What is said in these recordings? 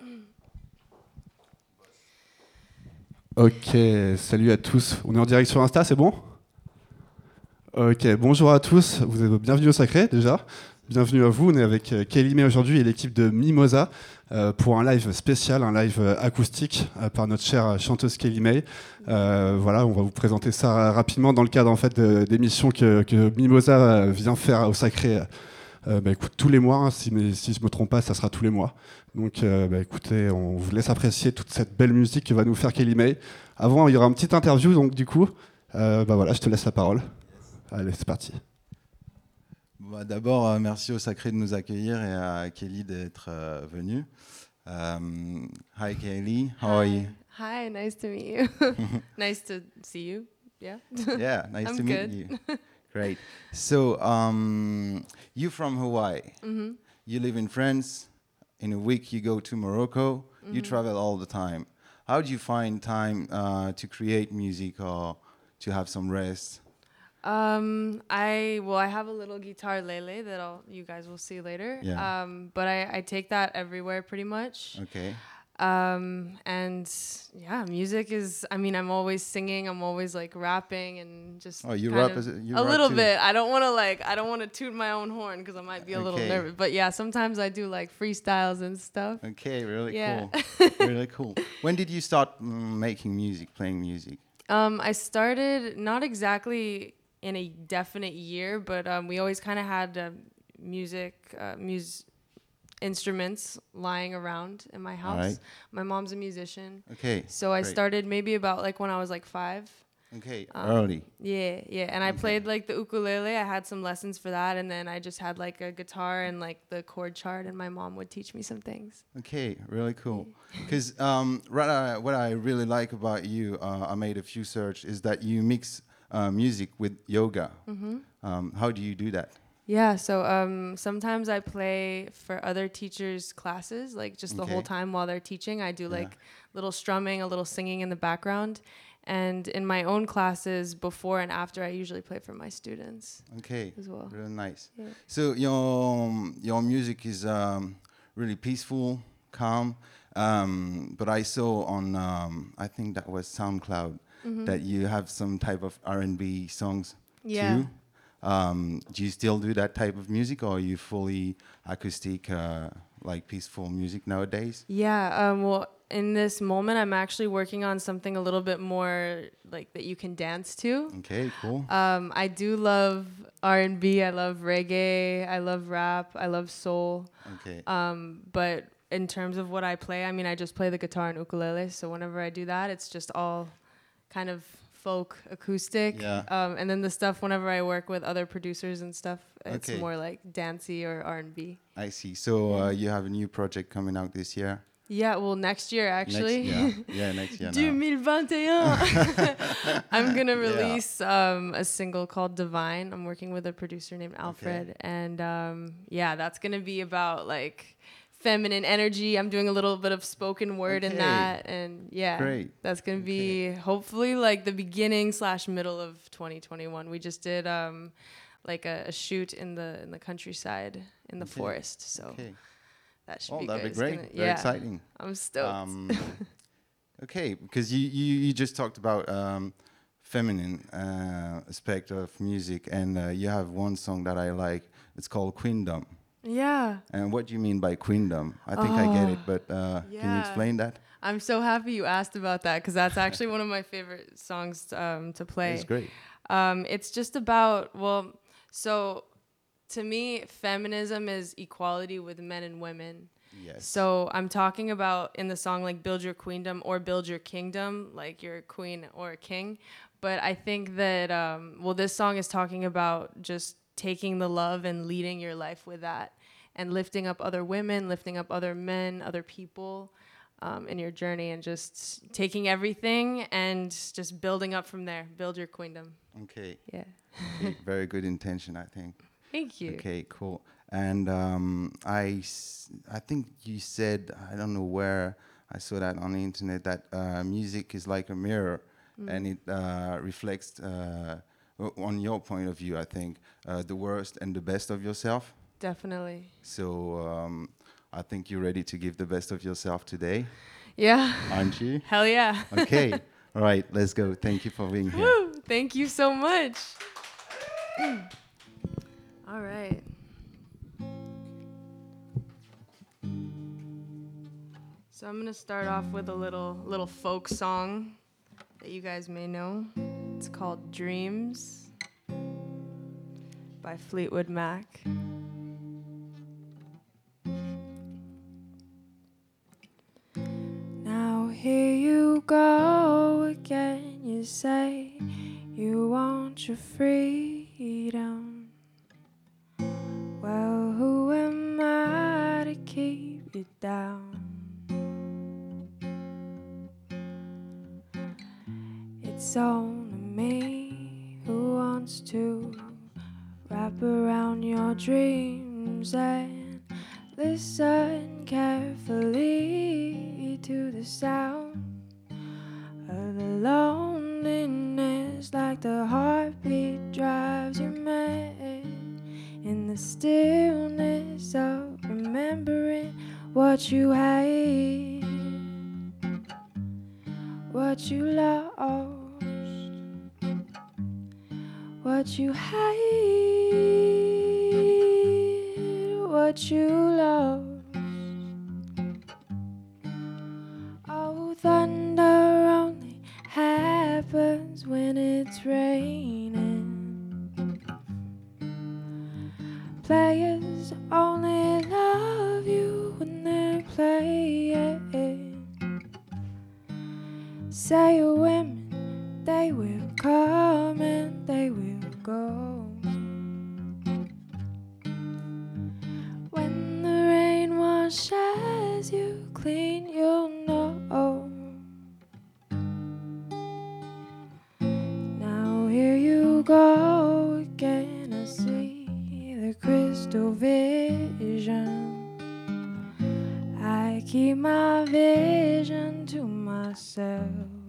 Ok, salut à tous. On est en direct sur Insta, c'est bon? Ok, bonjour à tous. Vous êtes bienvenue au Sacré déjà. Bienvenue à vous. On est avec Kelly May aujourd'hui et l'équipe de Mimosa pour un live spécial, un live acoustique par notre chère chanteuse Kelly May. Voilà, on va vous présenter ça rapidement dans le cadre en fait d'émissions que Mimosa vient faire au Sacré. Écoute, tous les mois, hein, si je ne me trompe pas, ça sera tous les mois. Donc écoutez, on vous laisse apprécier toute cette belle musique que va nous faire Kelly May. Avant, il y aura une petite interview, donc du coup, voilà, je te laisse la parole. Allez, c'est parti. D'abord, merci au Sacré de nous accueillir et à Kelly d'être venue. Hi Kelly, how are you? Hi, nice to meet you. Nice to see you. Yeah. Yeah, nice I'm to good. meet you. Great. So, you're from Hawaii. Mm-hmm. You live in France. In a week, you go to Morocco. You travel all the time. How do you find time to create music or to have some rest? I have a little guitar lele that you guys will see later. Yeah. But I take that everywhere pretty much. Okay. And yeah, music is. I mean, I'm always singing. I'm always like rapping and just. Oh, you kind rap of- you a rap little too? bit. I don't want to toot my own horn because I might be a little Okay. nervous. But yeah, sometimes I do like freestyles and stuff. Okay, really Yeah. cool. Really cool. When did you start making music, playing music? I started not exactly in a definite year, but we always kind of had music instruments lying around in my house. Alright. My mom's a musician, Okay. so I great. started maybe about like when I was like 5. Okay, Um, early. Yeah, and I Okay. played like the ukulele. I had some lessons for that, and then I just had like a guitar and like the chord chart, and my mom would teach me some things. Okay, really cool. Because what I really like about you, I made a few search, is that you mix music with yoga. How do you do that? Yeah, so sometimes I play for other teachers' classes, like just the whole Okay. time while they're teaching. I do Yeah. like little strumming, a little singing in the background. And in my own classes, before and after, I usually play for my students Okay, as well. really nice. Yeah. So your music is really peaceful, calm. But I saw on I think that was SoundCloud that you have some type of R&B songs Yeah. too. Do you still do that type of music, or are you fully acoustic, like peaceful music nowadays? Yeah, well, in this moment, I'm actually working on something a little bit more like that you can dance to. Okay, cool. I do love R&B. I love reggae. I love rap. I love soul. Okay. But in terms of what I play, I mean, I just play the guitar and ukulele. So whenever I do that, it's just all kind of folk acoustic. Yeah. And then the stuff whenever I work with other producers and stuff, it's Okay. more like dancey or R&B. I see. So you have a new project coming out this year? Yeah, well, next year actually. Next year. Now. 2021. I'm gonna Yeah. release a single called Divine. I'm working with a producer named Alfred, and that's gonna be about like feminine energy. I'm doing a little bit of spoken word in Okay. that, and Great. that's gonna be hopefully like the beginning/middle of 2021. We just did like a shoot in the countryside in the Okay. forest, so. Okay. That should Oh, be that'd good. be great. It's Very exciting. I'm stoked. Okay, because you just talked about feminine aspect of music, and you have one song that I like. It's called Queendom. Yeah. And what do you mean by queendom? I think I get it, but can you yeah. explain that? I'm so happy you asked about that because that's actually one of my favorite songs to play. It's great. It's just about, so to me, feminism is equality with men and women. Yes. So I'm talking about in the song like build your queendom or build your kingdom, like you're a queen or a king. But I think that, this song is talking about just taking the love and leading your life with that and lifting up other women, lifting up other men, other people in your journey and just taking everything and just building up from there. Build your queendom. Okay. Yeah. Okay, very good intention, I think. Thank you. Okay, cool. And I think you said, I don't know where I saw that on the internet, that music is like a mirror and it reflects, on your point of view, I think, the worst and the best of yourself. Definitely. So I think you're ready to give the best of yourself today, Yeah. aren't you? Hell yeah. Okay. All right, let's go. Thank you for being here. Woo, thank you so much. All right. So I'm gonna start off with a little folk song that you guys may know. It's called Dreams by Fleetwood Mac. Now here you go again, you say you want your freedom. Well, who am I to keep you down? It's only me who wants to wrap around your dreams and listen carefully to the sound of the loneliness, like the heartbeat drives you mad, in the stillness of remembering what you hate, what you lost, what you hate, what you lost. Oh, thunder only happens when it's raining. Players only love you when they're playing. Say your women, they will come and they will go. When the rain washes you clean, you'll know. Now here you go again, I see the crystal vision. I keep my vision to myself.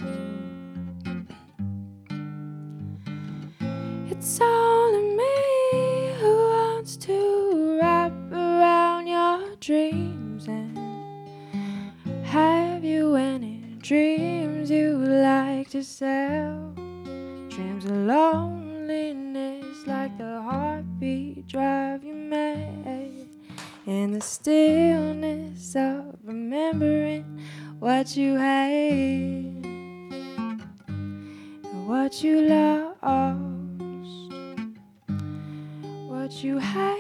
It's only me who wants to wrap around your dreams and have you any dreams you like to sell. Dreams of loneliness, like the heartbeat drive you mad, in the stillness of remembering what you hate and what you lost, what you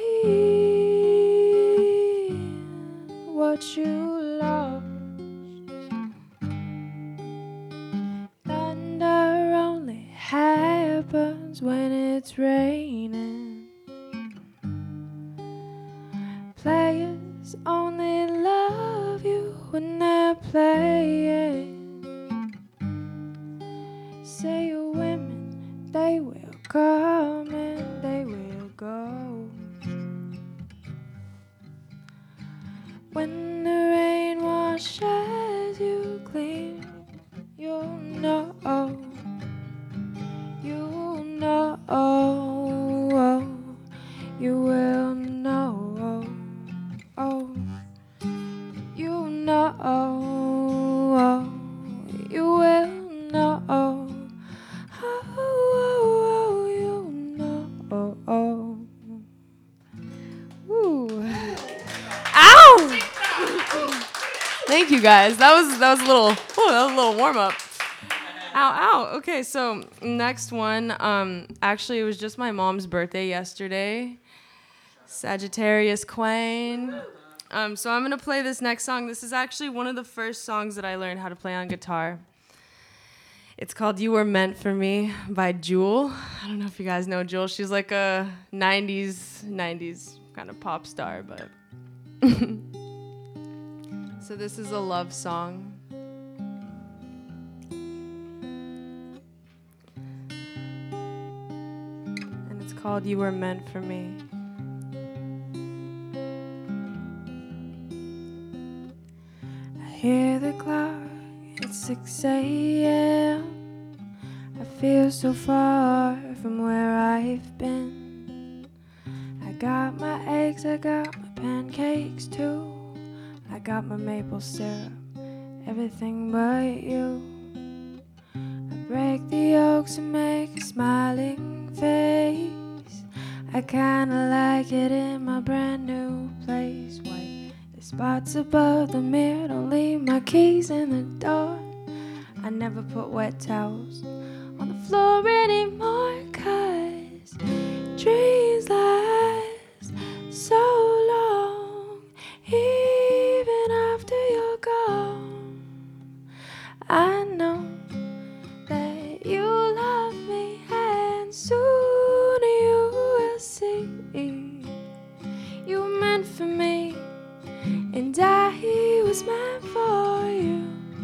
hate, what you lost. Thunder only happens when it's raining. Players only love you when they're playing. Say your women, they will come and they will go. When the rain washes you clean, you'll know. You'll know. You will know. Oh, you know. You will know. Oh, you know. Ooh. Ow! Thank you guys. That was a little warm up. Ow. Okay, so next one. Actually, it was just my mom's birthday yesterday. Sagittarius Queen. So I'm gonna play this next song. This is actually one of the first songs that I learned how to play on guitar. It's called "You Were Meant for Me" by Jewel. I don't know if you guys know Jewel. She's like a 90s kind of pop star, but so this is a love song. And it's called "You Were Meant for Me." I hear the clock, it's 6 a.m. I feel so far from where I've been. I got my eggs, I got my pancakes too. I got my maple syrup, everything but you. I break the yolks and make a smiling face. I kinda like it in my brand new place. White the spots above the mirror, don't leave my keys in the door. I never put wet towels on the floor anymore, 'cause dreams last so long, even after you're gone. I know that you love me, and soon you will see you were meant for me, and I was meant for you.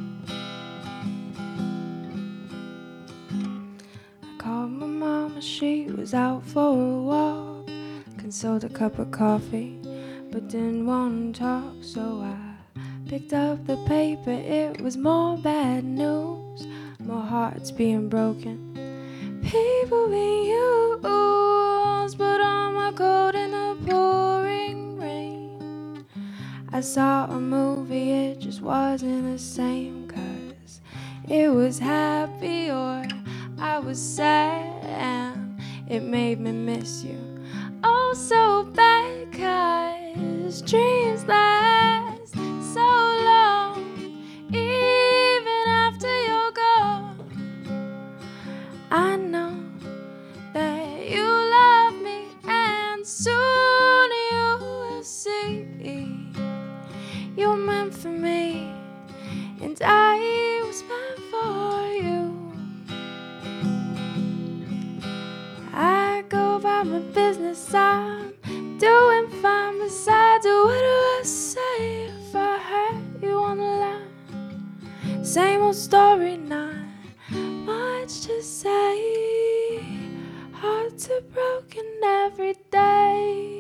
I called my mama, she was out for a walk. Consoled a cup of coffee, but didn't want to talk, so I picked up the paper. It was more bad news, more hearts being broken, people being used. Put on my coat in the pouring rain. I saw a movie, it just wasn't the same, 'cause it was happy or I was sad, and it made me miss you oh so bad, 'cause dreams last so long, even after you're gone. I know that you love me, and soon you will see you're meant for me, and I was meant for you. I go about my business, I'm doing fine. Besides, what do I say if I hurt you on the line? Same old story, not much to say. Hearts are broken every day.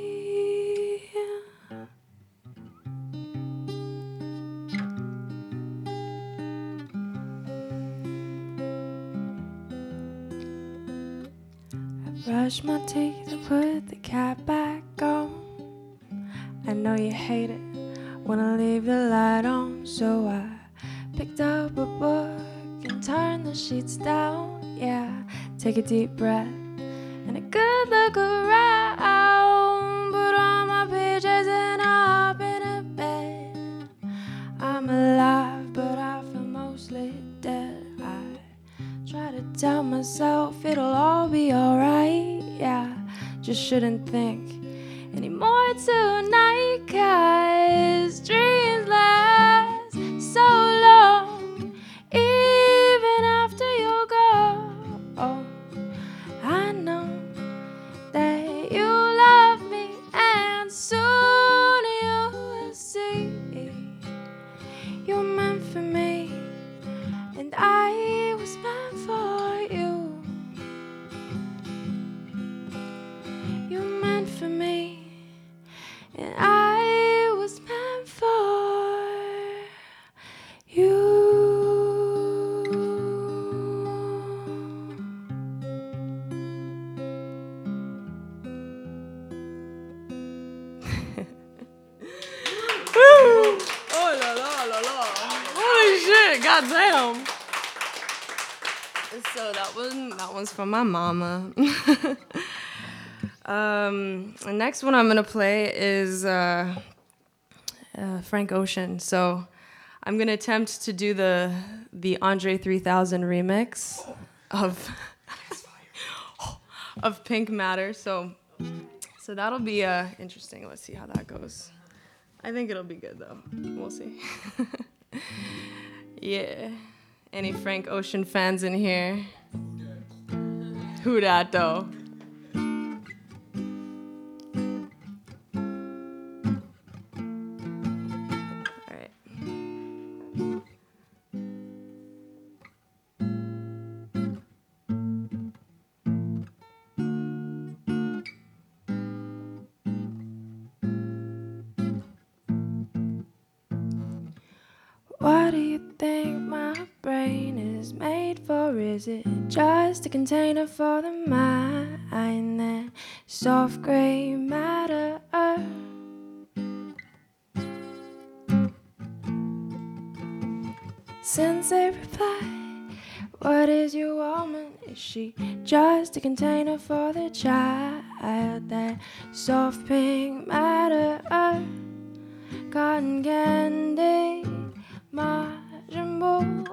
Brush my teeth and put the cap back on. I know you hate it when I leave the light on, so I picked up a book and turned the sheets down. Yeah, take a deep breath and a good look around. Put on my PJs and hop in a bed. I'm alive, but I feel mostly dead. I try to tell myself it'll all be alright. Yeah, just shouldn't think anymore tonight, 'cause dreams last so long, even after you're gone. I know that you love me, and soon you will see you're meant for me, and I was meant for you. You're meant for me, and I was meant for you. Woo! Oh la la la la! Holy shit! Goddamn! So that one's from my mama. The next one I'm gonna play is Frank Ocean. So I'm gonna attempt to do the Andre 3000 remix of Pink Matter. So that'll be interesting. Let's see how that goes. I think it'll be good though. We'll see. Yeah. Any Frank Ocean fans in here? Who dat though? What do you think my brain is made for? Is it just a container for the mind? That soft gray matter. Sensei replied, what is your woman? Is she just a container for the child? That soft pink matter, cotton candy, Majin Buu.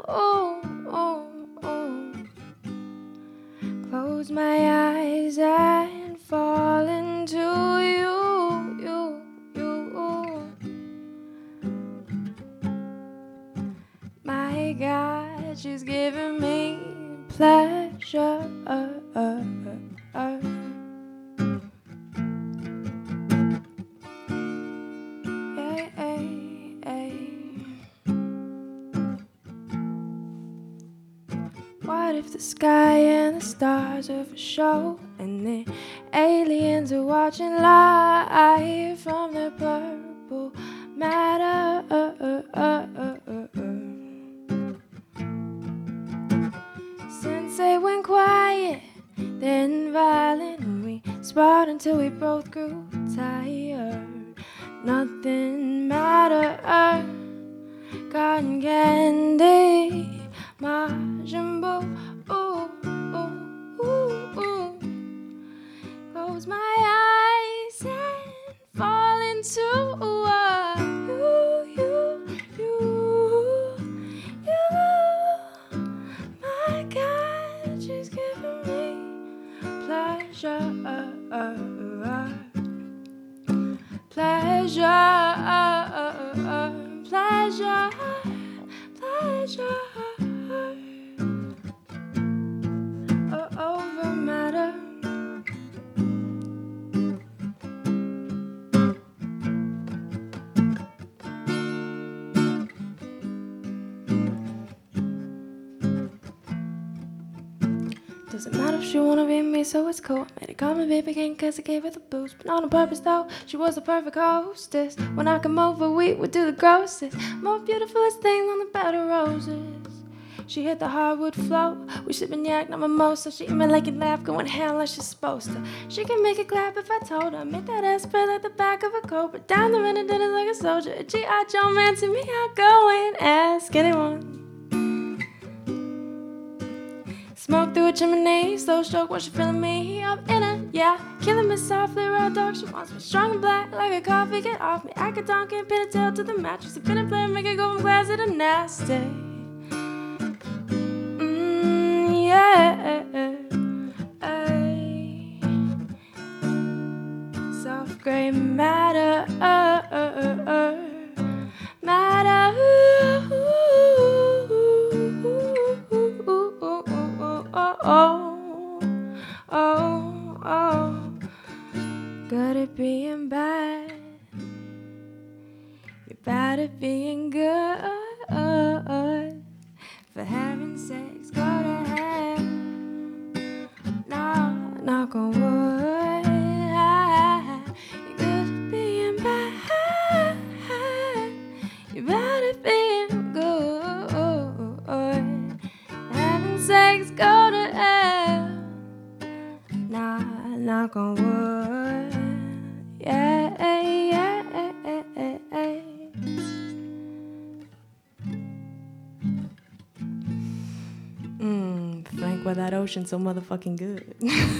Close my eyes and fall into you. My God, she's giving me pleasure. What if the sky and the stars are for show, and the aliens are watching live from the purple matter? Sensei went quiet, then violent, and we sparred until we both grew tired. Nothing mattered, cotton candy, Majin Buu. Close my eyes and fall into you. My God, she's giving me pleasure. Over matter. Doesn't matter if she wanna be me, so it's cool. Made a comment, baby, came cause I gave her the boost. But not on purpose though, she was the perfect hostess. When I come over, we would do the grossest, more beautifulest thing on the bed of roses. She hit the hardwood floor. We sippin' yak, not mimosa. She me like it laugh, going ham like she's supposed to. She can make it clap if I told her. Make that ass spread like the back of a coat. But down the minute, did it like a soldier. A G.I. Joe man to me, I'll go and ask anyone. Smoke through a chimney, slow stroke while she feeling me. I'm in her, yeah, killing me softly, raw dog. She wants me strong and black like a coffee. Get off me, I could donk and pin a tail to the mattress. A pin and play, make it go from classy to nasty. Yeah, soft gray matter, matter. Good at being bad, you're bad at being good. For having sex, go to hell. No, knock on wood. You're good at being bad, you're bad at being good. Having sex, go to hell. Nah, knock on wood. Yeah, yeah, yeah. Frank, why that ocean so motherfucking good?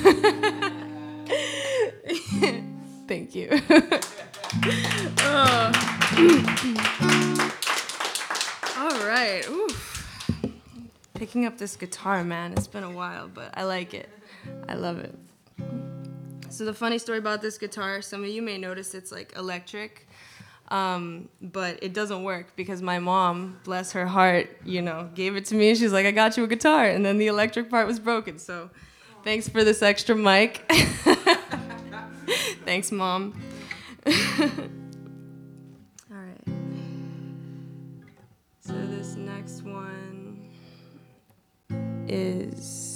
Thank you. All right. Oof. Picking up this guitar, man. It's been a while, but I like it. I love it. So the funny story about this guitar, some of you may notice it's like electric, but it doesn't work because my mom, bless her heart, gave it to me. She's like, I got you a guitar. And then the electric part was broken. So thanks for this extra mic. Thanks, Mom. All right. So this next one is...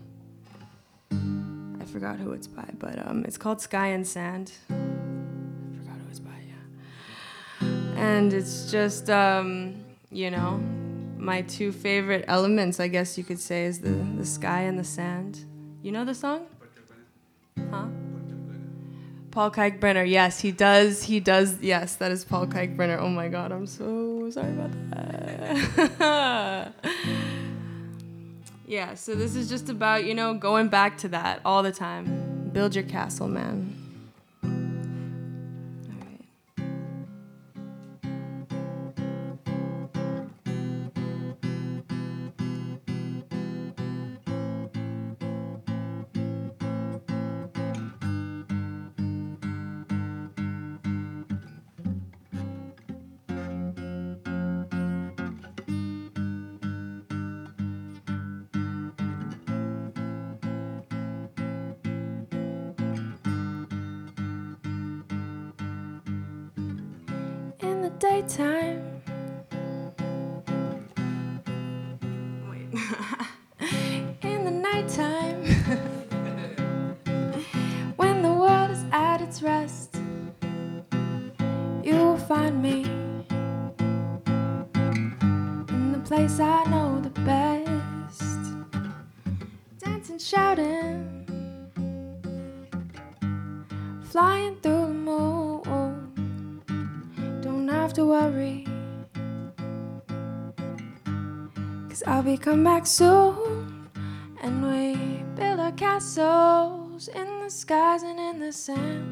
I forgot who it's by, but it's called Sky and Sand. I forgot who it's by, yeah. And it's just, my two favorite elements, I guess you could say, is the sky and the sand. You know the song? Huh? Paul Kalkbrenner. Yes, he does. He does. Yes, that is Paul Kalkbrenner. Oh my God, I'm so sorry about that. Yeah, so this is just about, going back to that all the time. Build your castle, man. In the daytime. Wait. In the nighttime. When the world is at its rest, you will find me in the place I know the best. Dancing, shouting, flying through the moon. Don't have to worry, 'cause I'll be come back soon. And we build our castles in the skies and in the sand.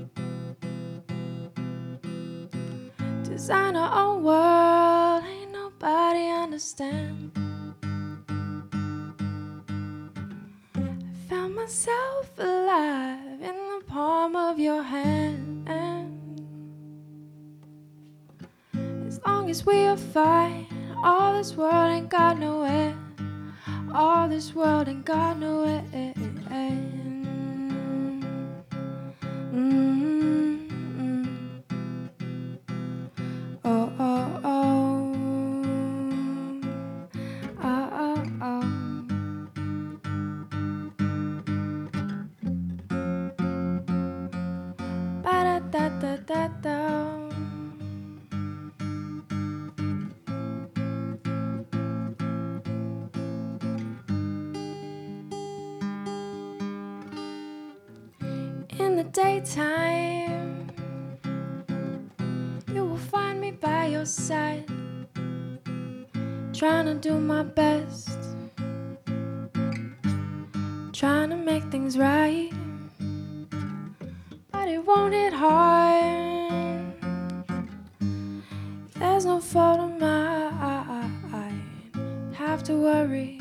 Design our own world, ain't nobody understand. I found myself alive in the palm of your hand. As long as we are fine, all this world ain't got no end. All this world ain't got no end. Oh, oh, oh. Oh, oh, oh. Ba-da-da-da-da-da. In the daytime, you will find me by your side, trying to do my best, trying to make things right, but it won't hit hard. There's no fault of mine, have to worry,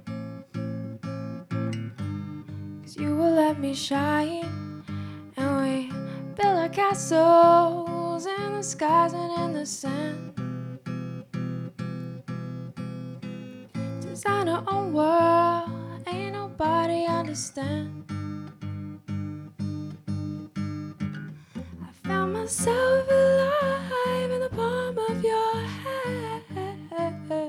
'cause you will let me shine. And we build our castles in the skies and in the sand. Design our own world, ain't nobody understand. I found myself alive in the palm of your hand.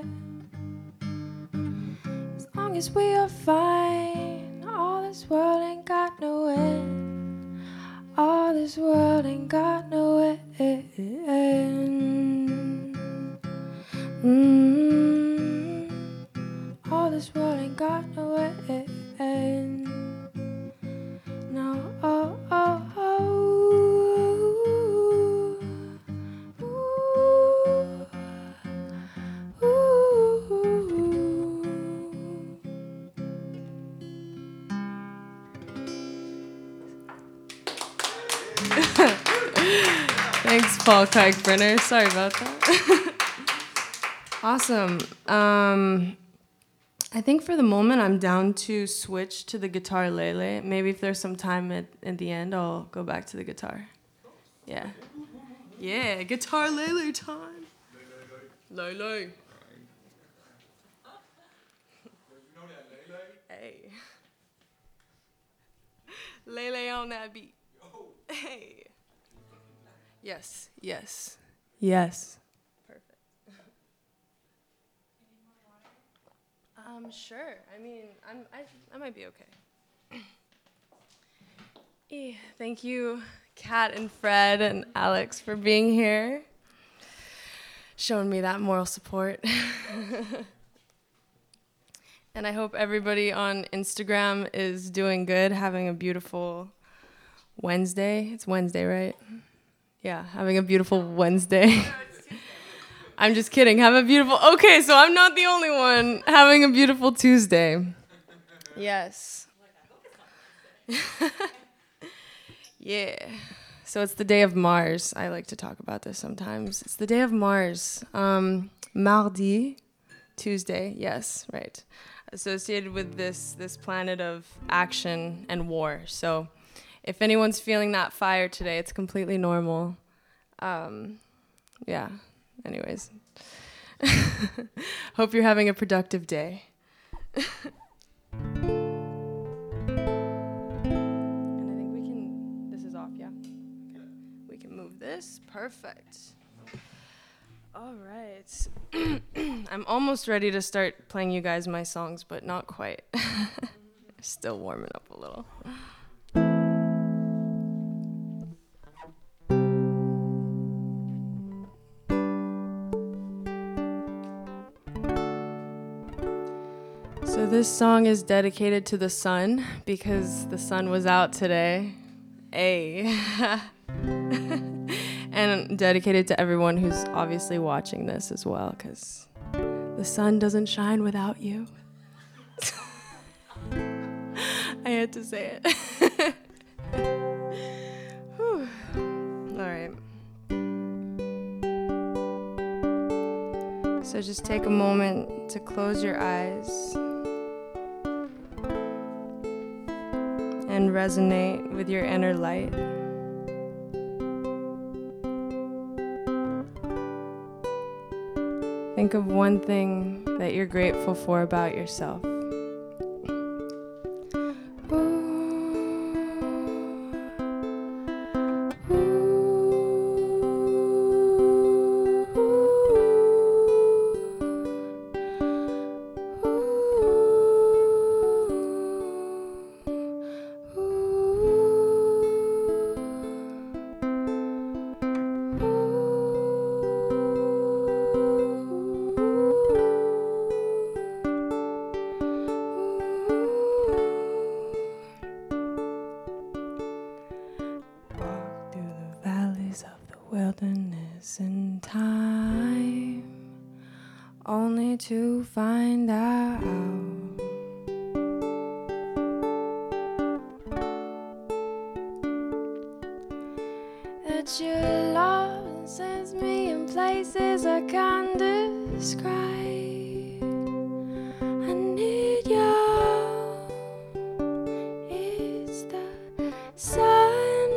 As long as we are fine, all this world ain't got no end. All this world ain't got no end. All this world ain't got no end. No, oh, oh, oh. Ooh, ooh. Thanks, Paul Kalkbrenner. Sorry about that. Awesome. I think for the moment I'm down to switch to the guitar Lele. Maybe if there's some time at the end, I'll go back to the guitar. Yeah. Yeah, guitar Lele time. Lele. Hey. Lele on that beat. Hey. Yes, yes, yes. Perfect. Sure. I mean, I might be okay. Thank you, Kat and Fred and Alex, for being here, showing me that moral support. And I hope everybody on Instagram is doing good, having a beautiful Wednesday. It's Wednesday, right? Yeah, having a beautiful Wednesday. I'm just kidding. Have a beautiful... Okay, so I'm not the only one having a beautiful Tuesday. Yes. Yeah. So it's the day of Mars. I like to talk about this sometimes. It's the day of Mars. Mardi, Tuesday. Yes, right. Associated with this planet of action and war. So if anyone's feeling that fire today, it's completely normal. Yeah. Anyways. Hope you're having a productive day. And I think we can... This is off, yeah? Okay. We can move this. Perfect. All right. I'm almost ready to start playing you guys my songs, but not quite. Still warming up a little. So this song is dedicated to the sun because the sun was out today. And dedicated to everyone who's obviously watching this as well, because the sun doesn't shine without you. I had to say it. All right. So just take a moment to close your eyes and resonate with your inner light. Think of one thing that you're grateful for about yourself. Wilderness in time, only to find out that your love sends me in places I can't describe. I need you. It's the sunrise.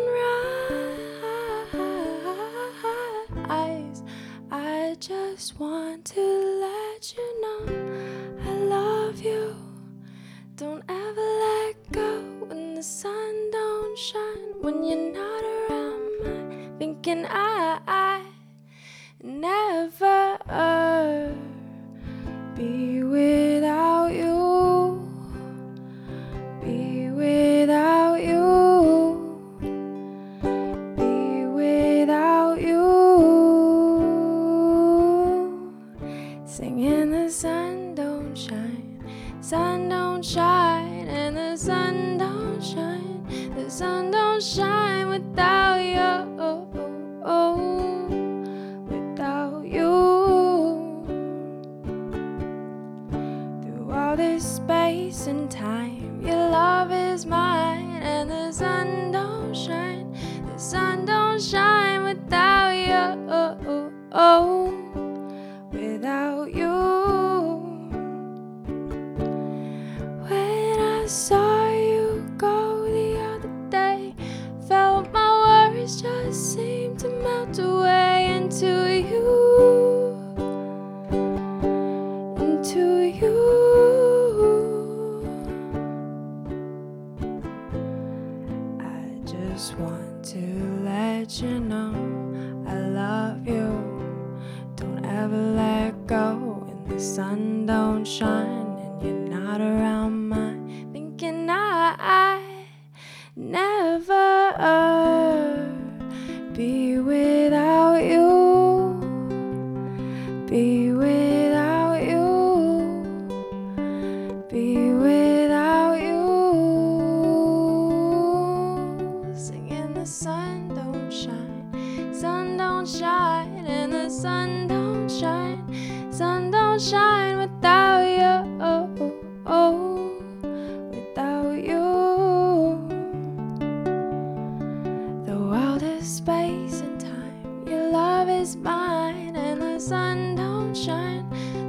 I just want to let you know I love you. Don't ever let go when the sun don't shine, when you're not around. I'm thinking I never be without you. Be without you. Be without you. Singing the sun don't shine, sun don't shine, and the sun don't shine, the sun don't shine without you, without you. Through all this space and time, your love is mine, and the sun don't shine, the sun don't shine without you, without you. When I saw you go the other day, felt my worries just seem to melt away into you, into you. I just want to let you know I love you. Don't ever let go when the sun don't shine and you're not around mine. Thinking I never be without you. Be without you. Be without you. Singing the sun don't shine, sun don't shine, and the sun don't shine, sun don't shine without you, without you. The world is space and time, your love is mine, and the sun don't shine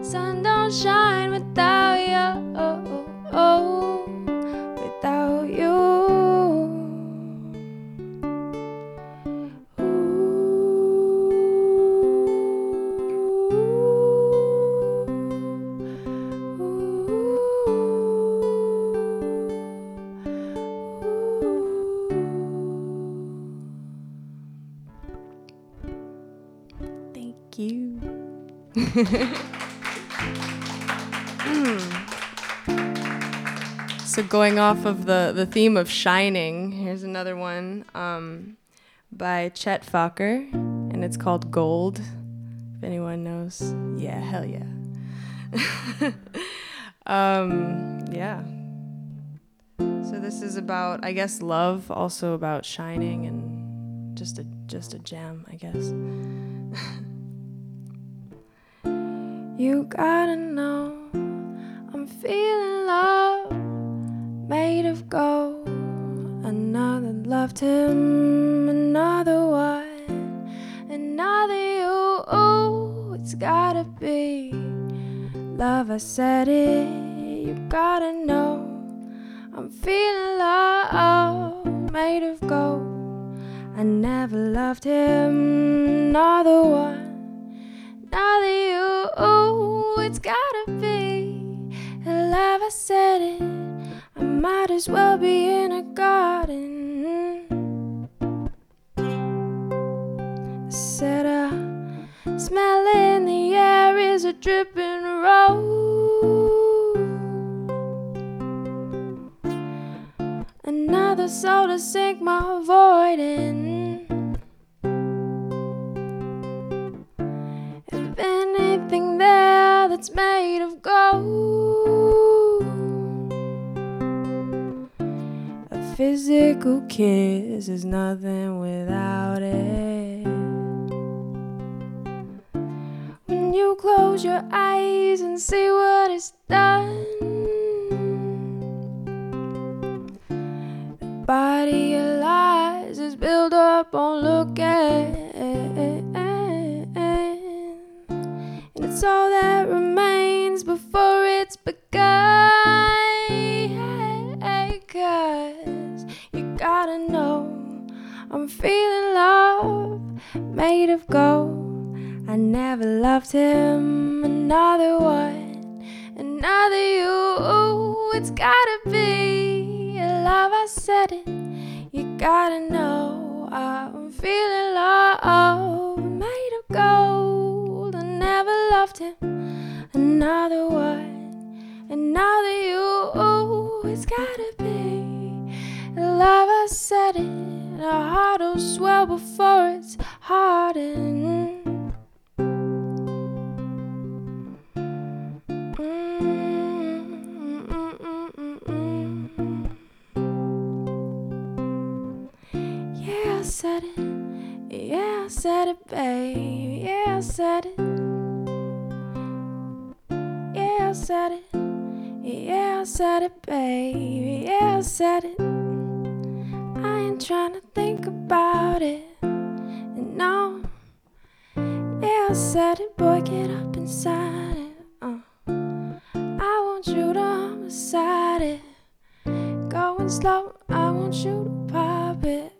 without you, without you. Thank you. So going off of the theme of shining, here's another one by Chet Faker, and it's called Gold. If anyone knows, yeah, hell yeah. Yeah. So this is about, I guess, love, also about shining, and just a jam, I guess. You gotta know I'm feeling love made of gold. Another loved him, another one, another you. Ooh, it's gotta be love, I said it. You gotta know I'm feeling love made of gold. I never loved him, another one, another you. Ooh, it's gotta be love, I said it. I might as well be in a garden. I said smell in the air is a dripping rose. Another soul to sink my void in. If anything there that's made of gold, a physical kiss is nothing without it. When you close your eyes and see what it's done, the body of lies is built up on looking, and it's all that remains before it's begun. 'Cause you gotta know I'm feeling love made of gold. I never loved him, another one, another you. It's gotta be love, I said it. You gotta know I'm feeling love made of gold. I never loved him, another one, another you. It's gotta be love, I said it. Our heart will swell before it's hardened. Yeah, I said it. Yeah, I said it, babe. Yeah, I said it. Yeah, I said it. Yeah, I said it, babe. Yeah, I said it. I ain't trying to think about it. No. Yeah, I said it, boy, get up inside it. I want you to homicide it. Going slow, I want you to pop it.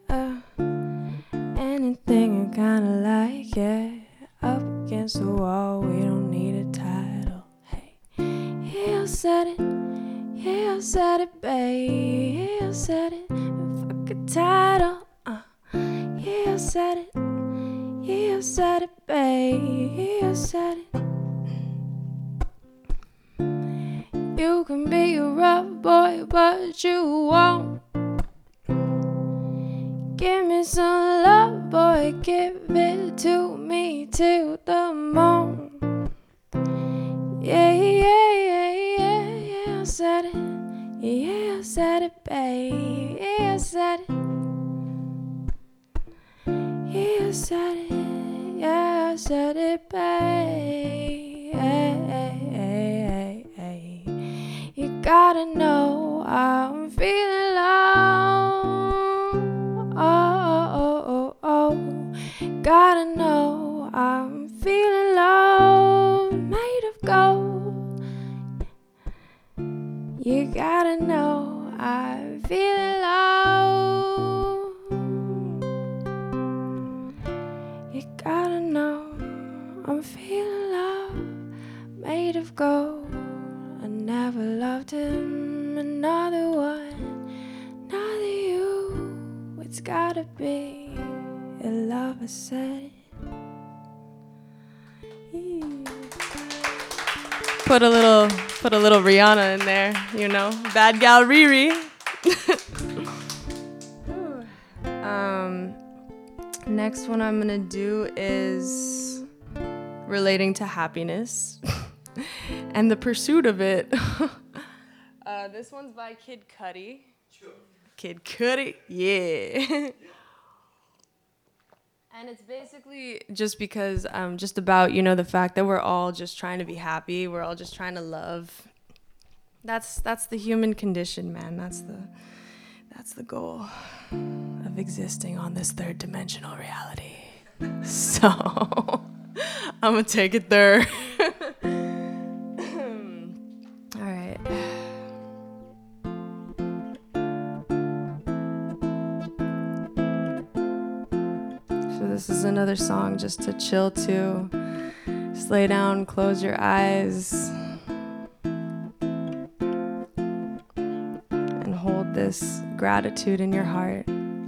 Anything I kinda like, yeah. Up against the wall, we don't need a title. Hey, yeah, I said it. Yeah, I said it, babe. Yeah, I said it. Fuck a title. Yeah, I said it. Yeah, I said it, babe. Yeah, I said it. You can be a rough boy, but you won't. Give me some love, boy, give it to me till the morn. Yeah, yeah, yeah, yeah, yeah, I said it. Yeah, I said it, babe. Yeah, I said it. I said it, yeah, I said it, babe. You gotta know I'm feeling low. Gotta know I'm feeling low, made of gold. You gotta know I'm feeling low. You gotta know I'm feeling low, made of gold. I never loved him, another one, another you. It's gotta be a love I said. Put a little Rihanna in there, you know, bad gal Riri. Next one I'm gonna do is relating to happiness and the pursuit of it. This one's by Kid Cudi. Kid Cudi, yeah. And it's basically just because just about, you know, the fact that we're all just trying to be happy. We're all just trying to love. That's the human condition, man. That's the goal of existing on this third dimensional reality. So I'm gonna take it there. All right. So this is another song just to chill to. Just lay down, close your eyes, and hold this gratitude in your heart.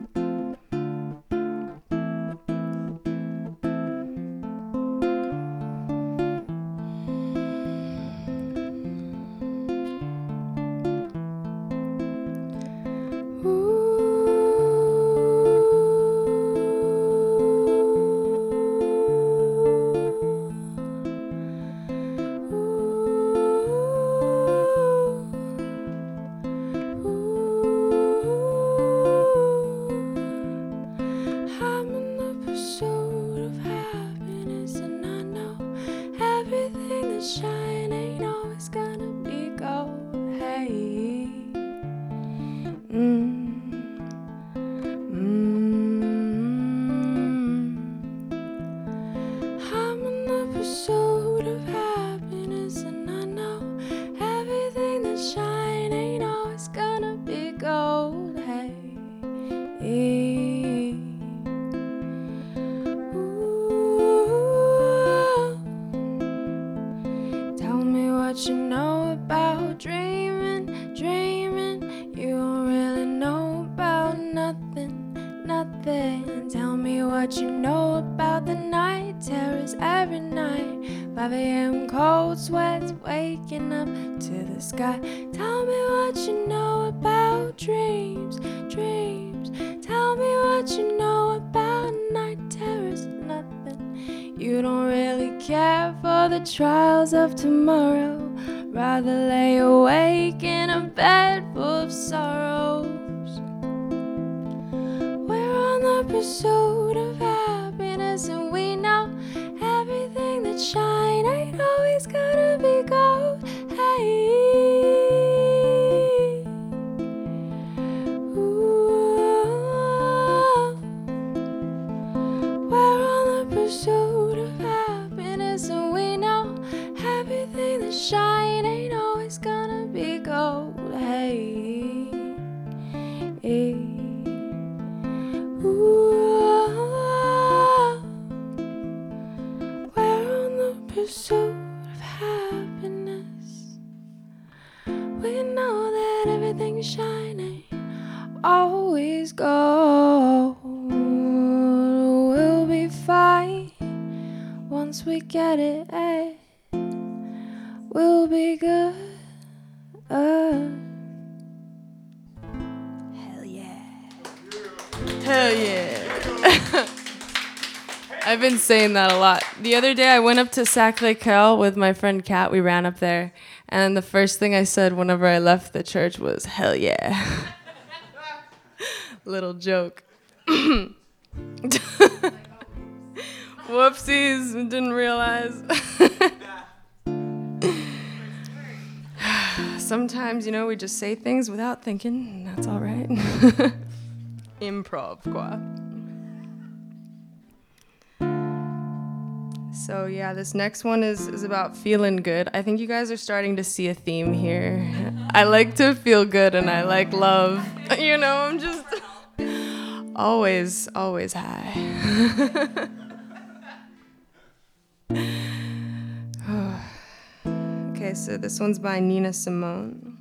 Trials of tomorrow, rather lay awake in a bed full of sorrows. We're on the pursuit of happiness, and we know everything that shine ain't always gonna be gold. Hey, ooh, we're on the pursuit of happiness, and we know everything that shine ain't always gonna be gold. Hey, hey. Ooh, we're on the pursuit of happiness. We know that everything shining always gold. We'll be fine once we get it. Hey. We'll be good. Hell yeah. Hell yeah. I've been saying that a lot. The other day I went up to Sacré-Cœur with my friend Kat. We ran up there. And the first thing I said whenever I left the church was, hell yeah. Little joke. Whoopsies, didn't realize. Sometimes, we just say things without thinking, and that's all right. Improv, quoi. So yeah, this next one is about feeling good. I think you guys are starting to see a theme here. I like to feel good and I like love. I'm just always high. Okay, so this one's by Nina Simone.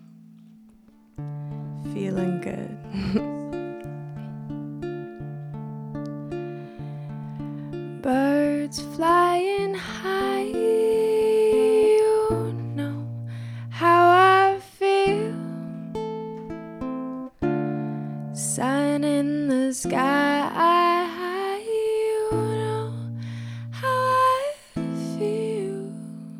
Feeling good. Birds flying high, you know how I feel. Sun in the sky, you know how I feel.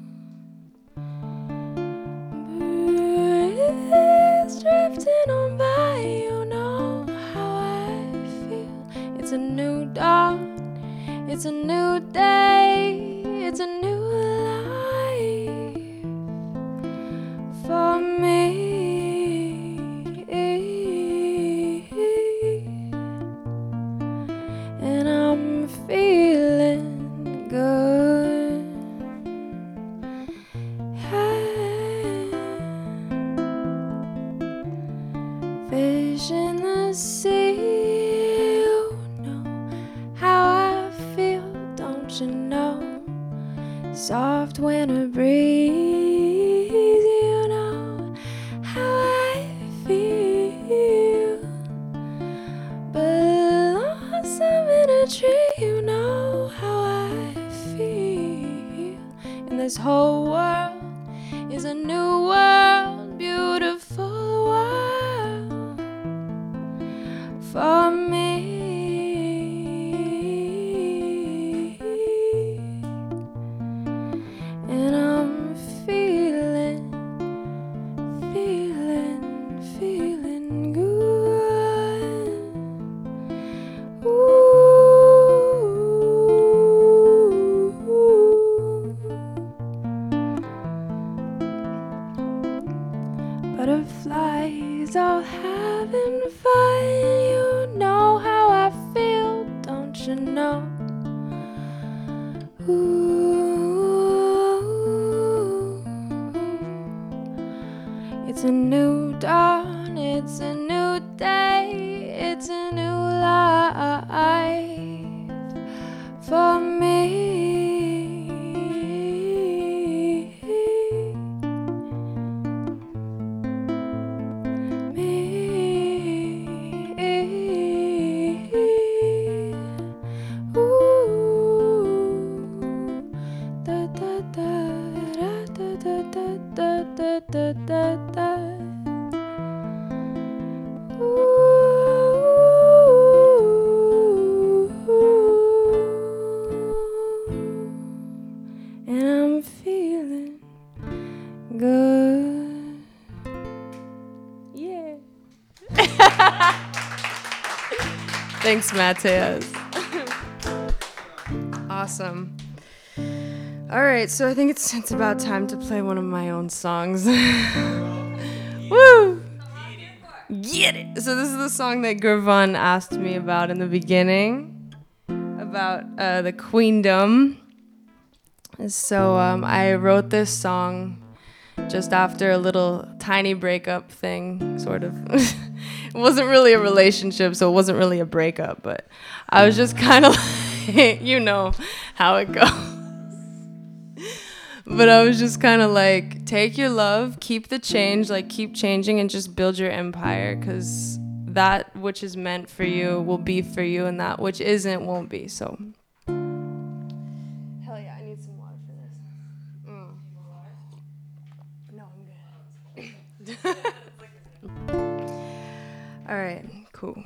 Breeze drifting on by, you know how I feel. It's a new dawn. It's a new day, it's a new life for me. And I'm feeling good. Fish in the sea, you know how I feel, don't you know? Soft winter breeze, you know how I feel. Blossom in a tree, you know how I feel. And this whole world is a new world, beautiful world for me. And I'm feeling good. Butterflies all having fun, you know how I feel, don't you know? It's a new dawn, it's a new day, it's a new life for me. And I'm feeling good. Yeah. Thanks, Matthias. Awesome. All right, so I think it's about time to play one of my own songs. Woo! Get it! So this is the song that Gurvan asked me about in the beginning, about the queendom. So I wrote this song just after a little tiny breakup thing, sort of. It wasn't really a relationship, so it wasn't really a breakup, but I was just kind of like, you know how it goes. But I was just kind of like, take your love, keep the change, like keep changing and just build your empire, because that which is meant for you will be for you and that which isn't won't be. So hell yeah, I need some water for this. No, I'm good. All right, cool.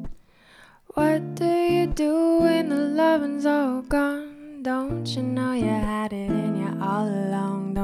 What do you do when the loving's all gone? Don't you know you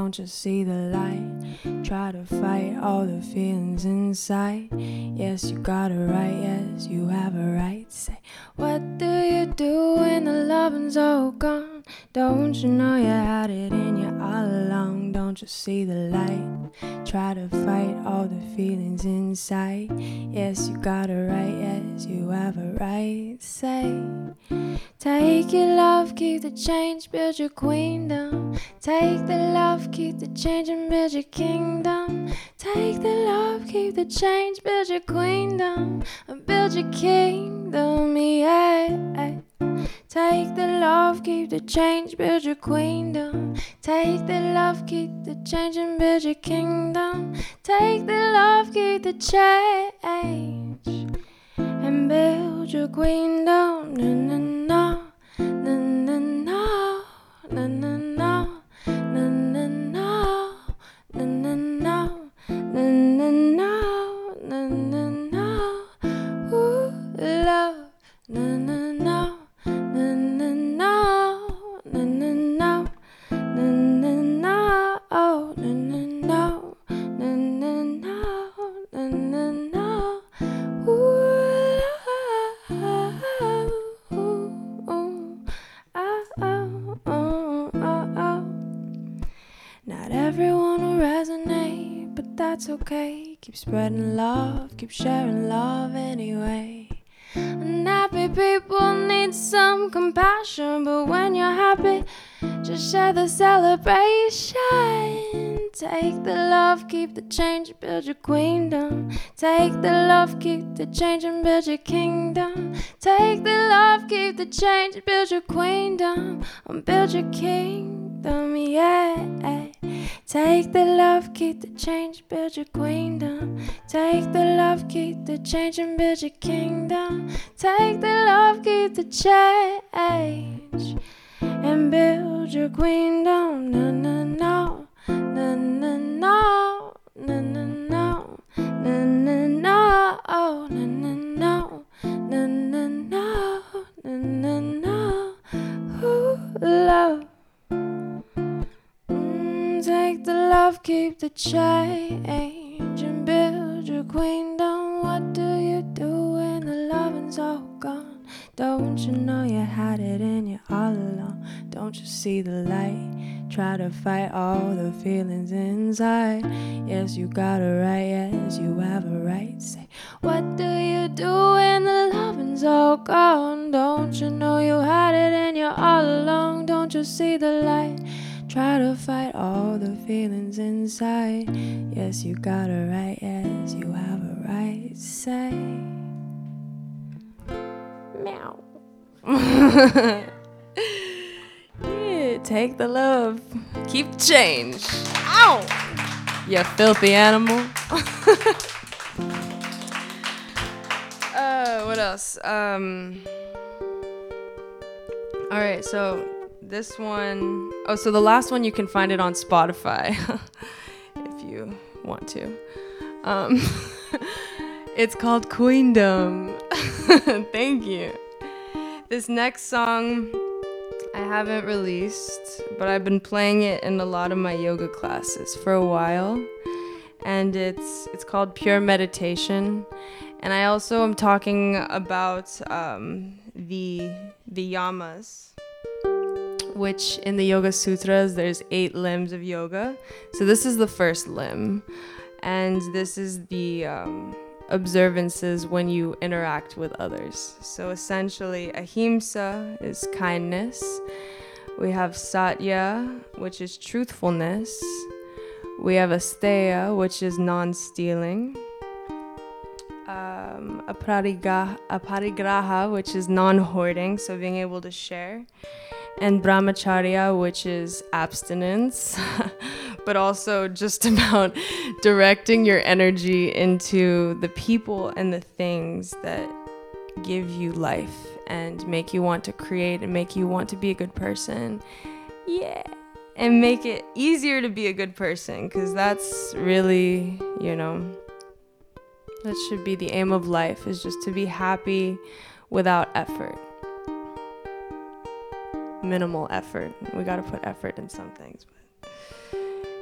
don't you see the light? Try to fight all the feelings inside. Yes, you got a right, yes, you have a right. Say, what do you do when the loving's all gone? Don't you know you had it in you all along? Don't you see the light? Try to fight all the feelings inside. Yes, you got a right, yes, you have a right. Say, take your love, keep the change, build your queendom. Take the love, keep the change and build your kingdom. Take the love, keep the change, build your queendom. Build your kingdom, yeah. Take the love, keep the change, build your queendom. Take the love, keep the change and build your kingdom. Take the love, keep the change and build your queendom. Na na na, na na na, na na na, na na na, na na na, na na na, na na na. Ooh, love, na na na. Na na na, na na na, na na na, oh na na na, na na na, na na na, ooh, Not everyone will resonate, but that's okay. Keep spreading love, keep sharing love anyway. Unhappy people need some compassion, but when you're happy, just share the celebration. Take the love, keep the change, build your queendom. Take the love, keep the change and build your kingdom. Take the love, keep the change, build your queendom. Build your kingdom, yeah. Take the love, keep the change, build your queendom. Take the love, keep the change and build your kingdom. Take the love, keep the change and build your queendom. Na na na, na na na, na na na, na na na, oh na na na, na na na, na na na. Ooh, love. Take the love, keep the change and build your queendom. What do you do when the loving's all gone? Don't you know you had it in you all along? Don't you see the light? Try to fight all the feelings inside. Yes, you got a right, yes, you have a right. Say, what do you do when the loving's all gone? Don't you know you had it in you all along? Don't you see the light? Try to fight all the feelings inside. Yes, you got a right, yes, you have a right. Say, meow. Yeah, take the love, keep the change. Ow! You filthy animal. What else? Alright, so this one, so the last one, you can find it on Spotify if you want to. It's called Queendom. Thank you. This next song I haven't released, but I've been playing it in a lot of my yoga classes for a while, and it's called Pure Meditation. And I also am talking about the yamas, which in the Yoga Sutras, there's 8 limbs of yoga. So this is the first limb, and this is the observances when you interact with others. So essentially, ahimsa is kindness. We have satya, which is truthfulness. We have asteya, which is non-stealing. Aparigraha, which is non-hoarding, so being able to share. And brahmacharya, which is abstinence, but also just about directing your energy into the people and the things that give you life and make you want to create and make you want to be a good person. Yeah. And make it easier to be a good person, because that's really, that should be the aim of life, is just to be happy without effort. Minimal effort. We got to put effort in some things. But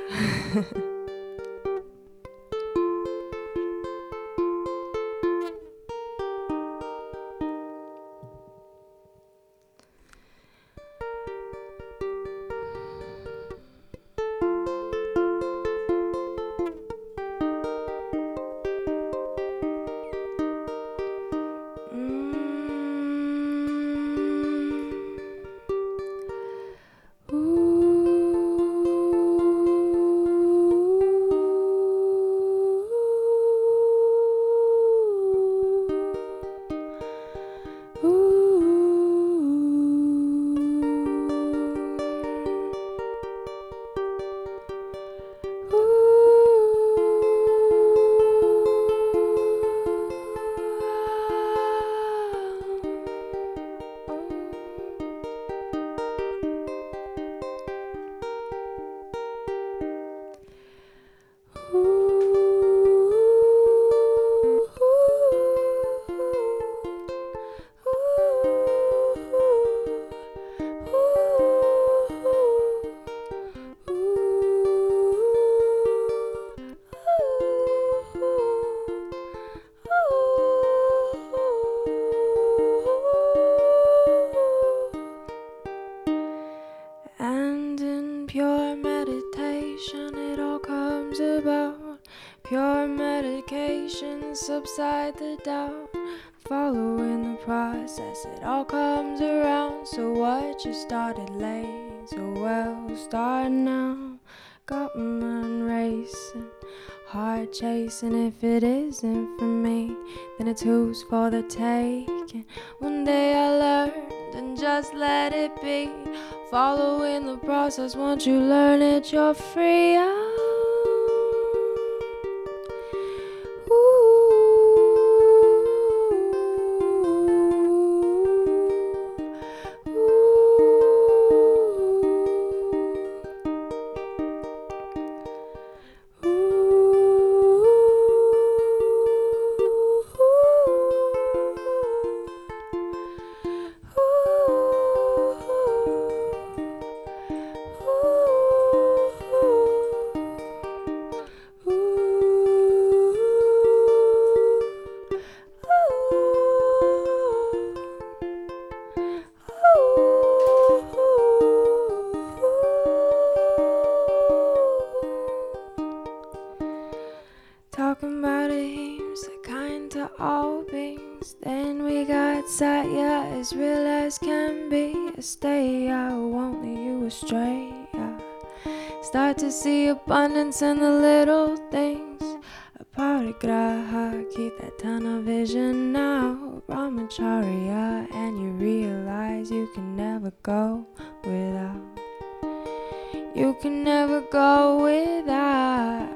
And in pure meditation, it all comes about. Pure medication, subside the doubt. Following the process, it all comes around. So what you started late, so well, start now. Got my mind racing, heart chasing. If it isn't for me, then it's who's for the taking. One day I learned and just let it be. Following the process, once you learn it, you're free. Talking about a hymns that kind to all beings. Then we got Satya, as real as can be. Stay, I won't lead you astray. Start to see abundance in the little things. Aparigraha, keep that tunnel vision now. Brahmacharya, and you realize you can never go without. You can never go without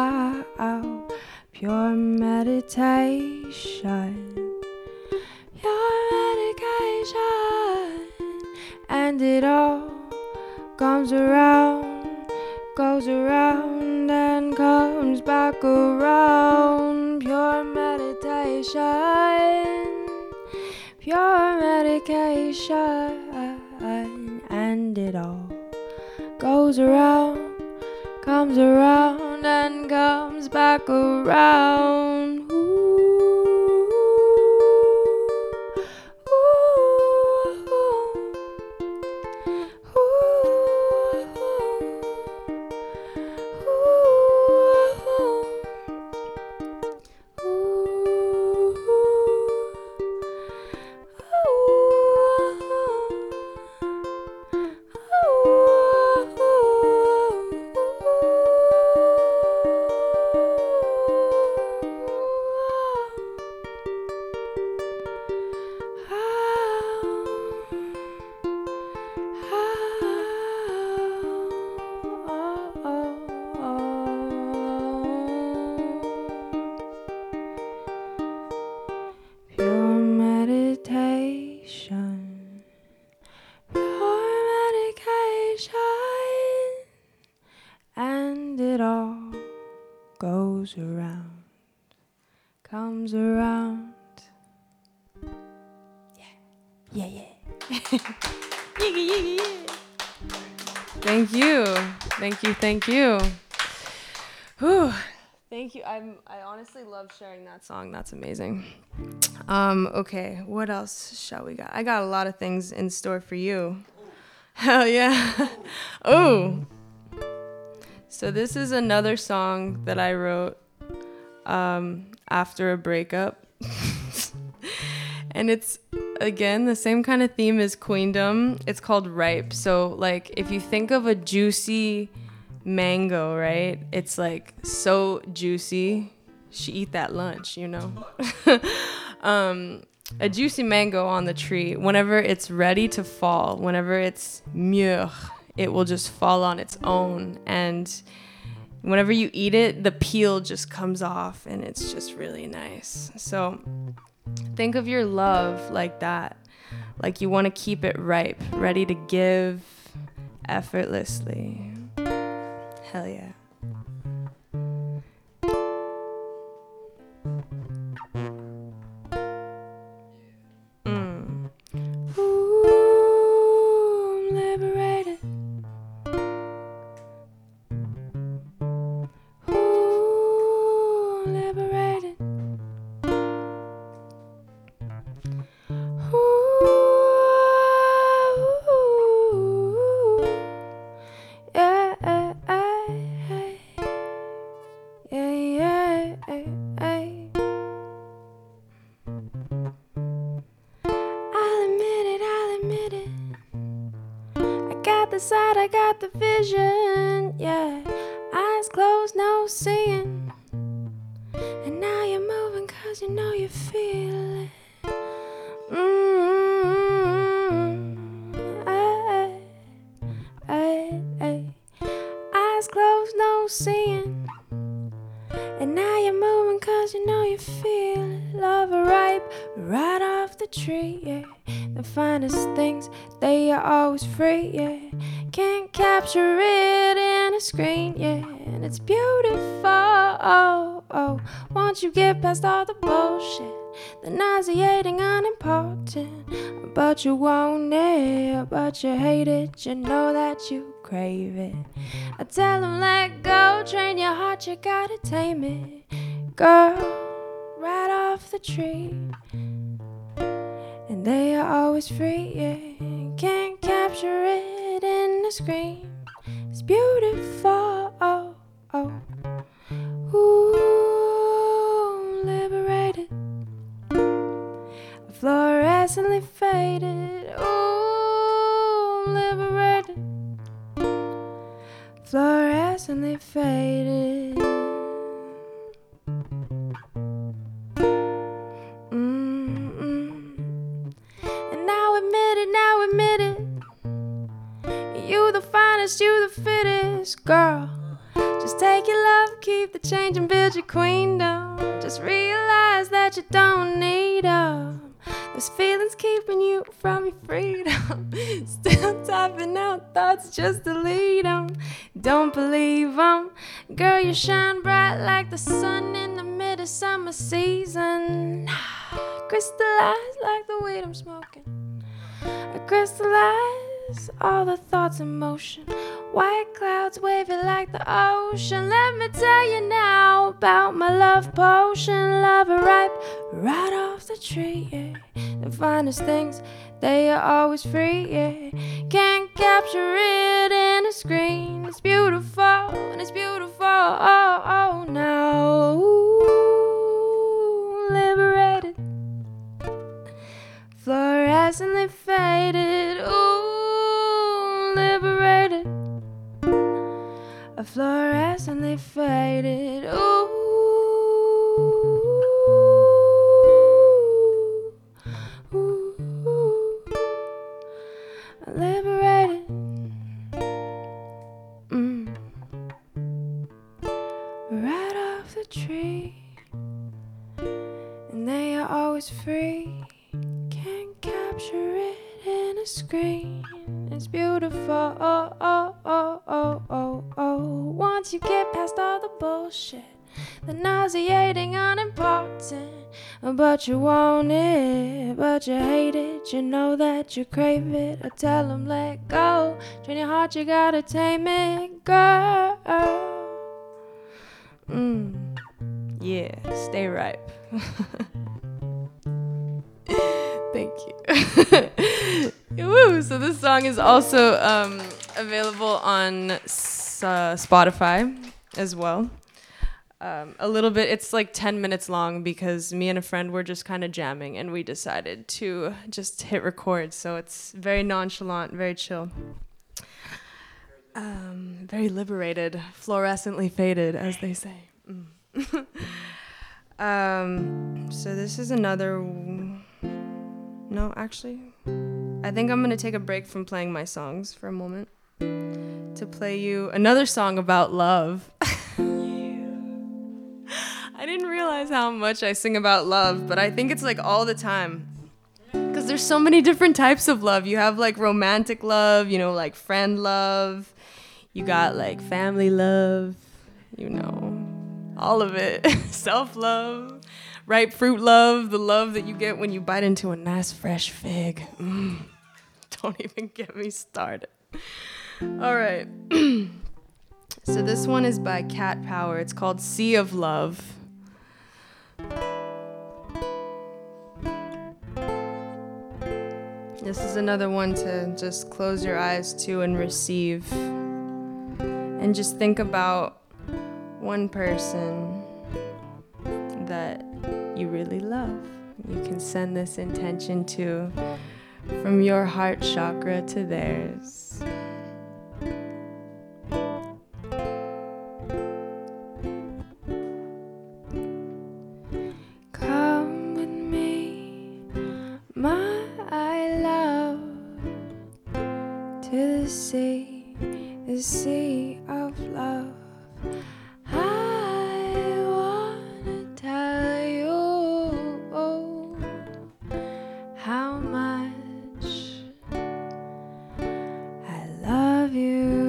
pure meditation. Pure medication. And it all comes around, goes around and comes back around. Pure meditation. Pure medication. And it all goes around, comes around and comes back around. Pure meditation, pure medication, and it all goes around, comes around. Yeah, yeah, yeah. Yeah, yeah, yeah. Thank you. Thank you. Thank you. Whew. Thank you. I honestly love sharing that song. That's amazing. Okay, what else shall we got? I got a lot of things in store for you. Hell yeah. Oh. So this is another song that I wrote after a breakup. And it's, again, the same kind of theme as Queendom. It's called Ripe. So, like, if you think of a juicy mango, right? It's, like, so juicy. She eat that lunch, you know? A juicy mango on the tree, whenever it's ready to fall, whenever it's mûr, it will just fall on its own. And whenever you eat it, the peel just comes off, and it's just really nice. So think of your love like that. Like you want to keep it ripe, ready to give effortlessly. Hell yeah. Ooh, I'm liberated. Ooh, I'm liberated. Ooh, yeah, yeah, I'll admit it. I got the sight, I got the vision, yeah. Eyes closed, no seeing. And now you're moving 'cause you know you feel it. Eyes closed, no seeing. And now you're moving 'cause you know you feel it. Love ripe right off the tree, yeah. The finest things, they are always free, yeah. Can't capture it in a screen, yeah. And it's beautiful, once you get past all the bullshit, the nauseating, unimportant. But you want it, but you hate it. You know that you crave it. I tell them let go, train your heart, you gotta tame it. Girl, right off the tree. And they are always free, yeah. Can't capture it in the screen. It's beautiful, Ooh, liberated. Fluorescently faded. Ooh, liberated. Fluorescently faded. And now admit it. You the finest, you the fittest, girl. Just take your love, keep the change, and build your queendom. Just realize that you don't need them. Those feelings keeping you from your freedom. Still typing out thoughts, just delete them. Don't believe them. Girl, you shine bright like the sun in the midsummer season. Crystallize like the weed I'm smoking. I crystallize all the thoughts in motion. White clouds wavy like the ocean. Let me tell you now about my love potion. Love it ripe right off the tree, yeah. The finest things, they are always free, yeah. Can't capture it in a screen. It's beautiful, and it's beautiful, now. Ooh, liberated. Fluorescently faded. Ooh, liberated. Fluorescently faded. Ooh, liberated. Right off the tree, and they are always free. Can't capture it in a screen. It's beautiful, Once you get past all the bullshit, the nauseating, unimportant. But you want it, but you hate it. You know that you crave it. I tell them let go. Train your heart, you gotta tame it, girl. Yeah, stay ripe. Thank you. Woo! So this song is also available on Spotify as well. A little bit, it's like 10 minutes long because me and a friend were just kind of jamming and we decided to just hit record. So it's very nonchalant, very chill. Very liberated, fluorescently faded, as they say. So this is another... No, actually, I think I'm going to take a break from playing my songs for a moment to play you another song about love. I didn't realize how much I sing about love, but I think it's like all the time. Because there's so many different types of love. You have like romantic love, you know, like friend love. You got like family love, you know, all of it. Self-love, ripe fruit love, the love that you get when you bite into a nice fresh fig. Don't even get me started. All right. So this one is by Cat Power. It's called Sea of Love. This is another one to just close your eyes to and receive. And just think about one person that you really love. You can send this intention to from your heart chakra to theirs. Come with me, my love, to the sea of love. I wanna tell you how much I love you.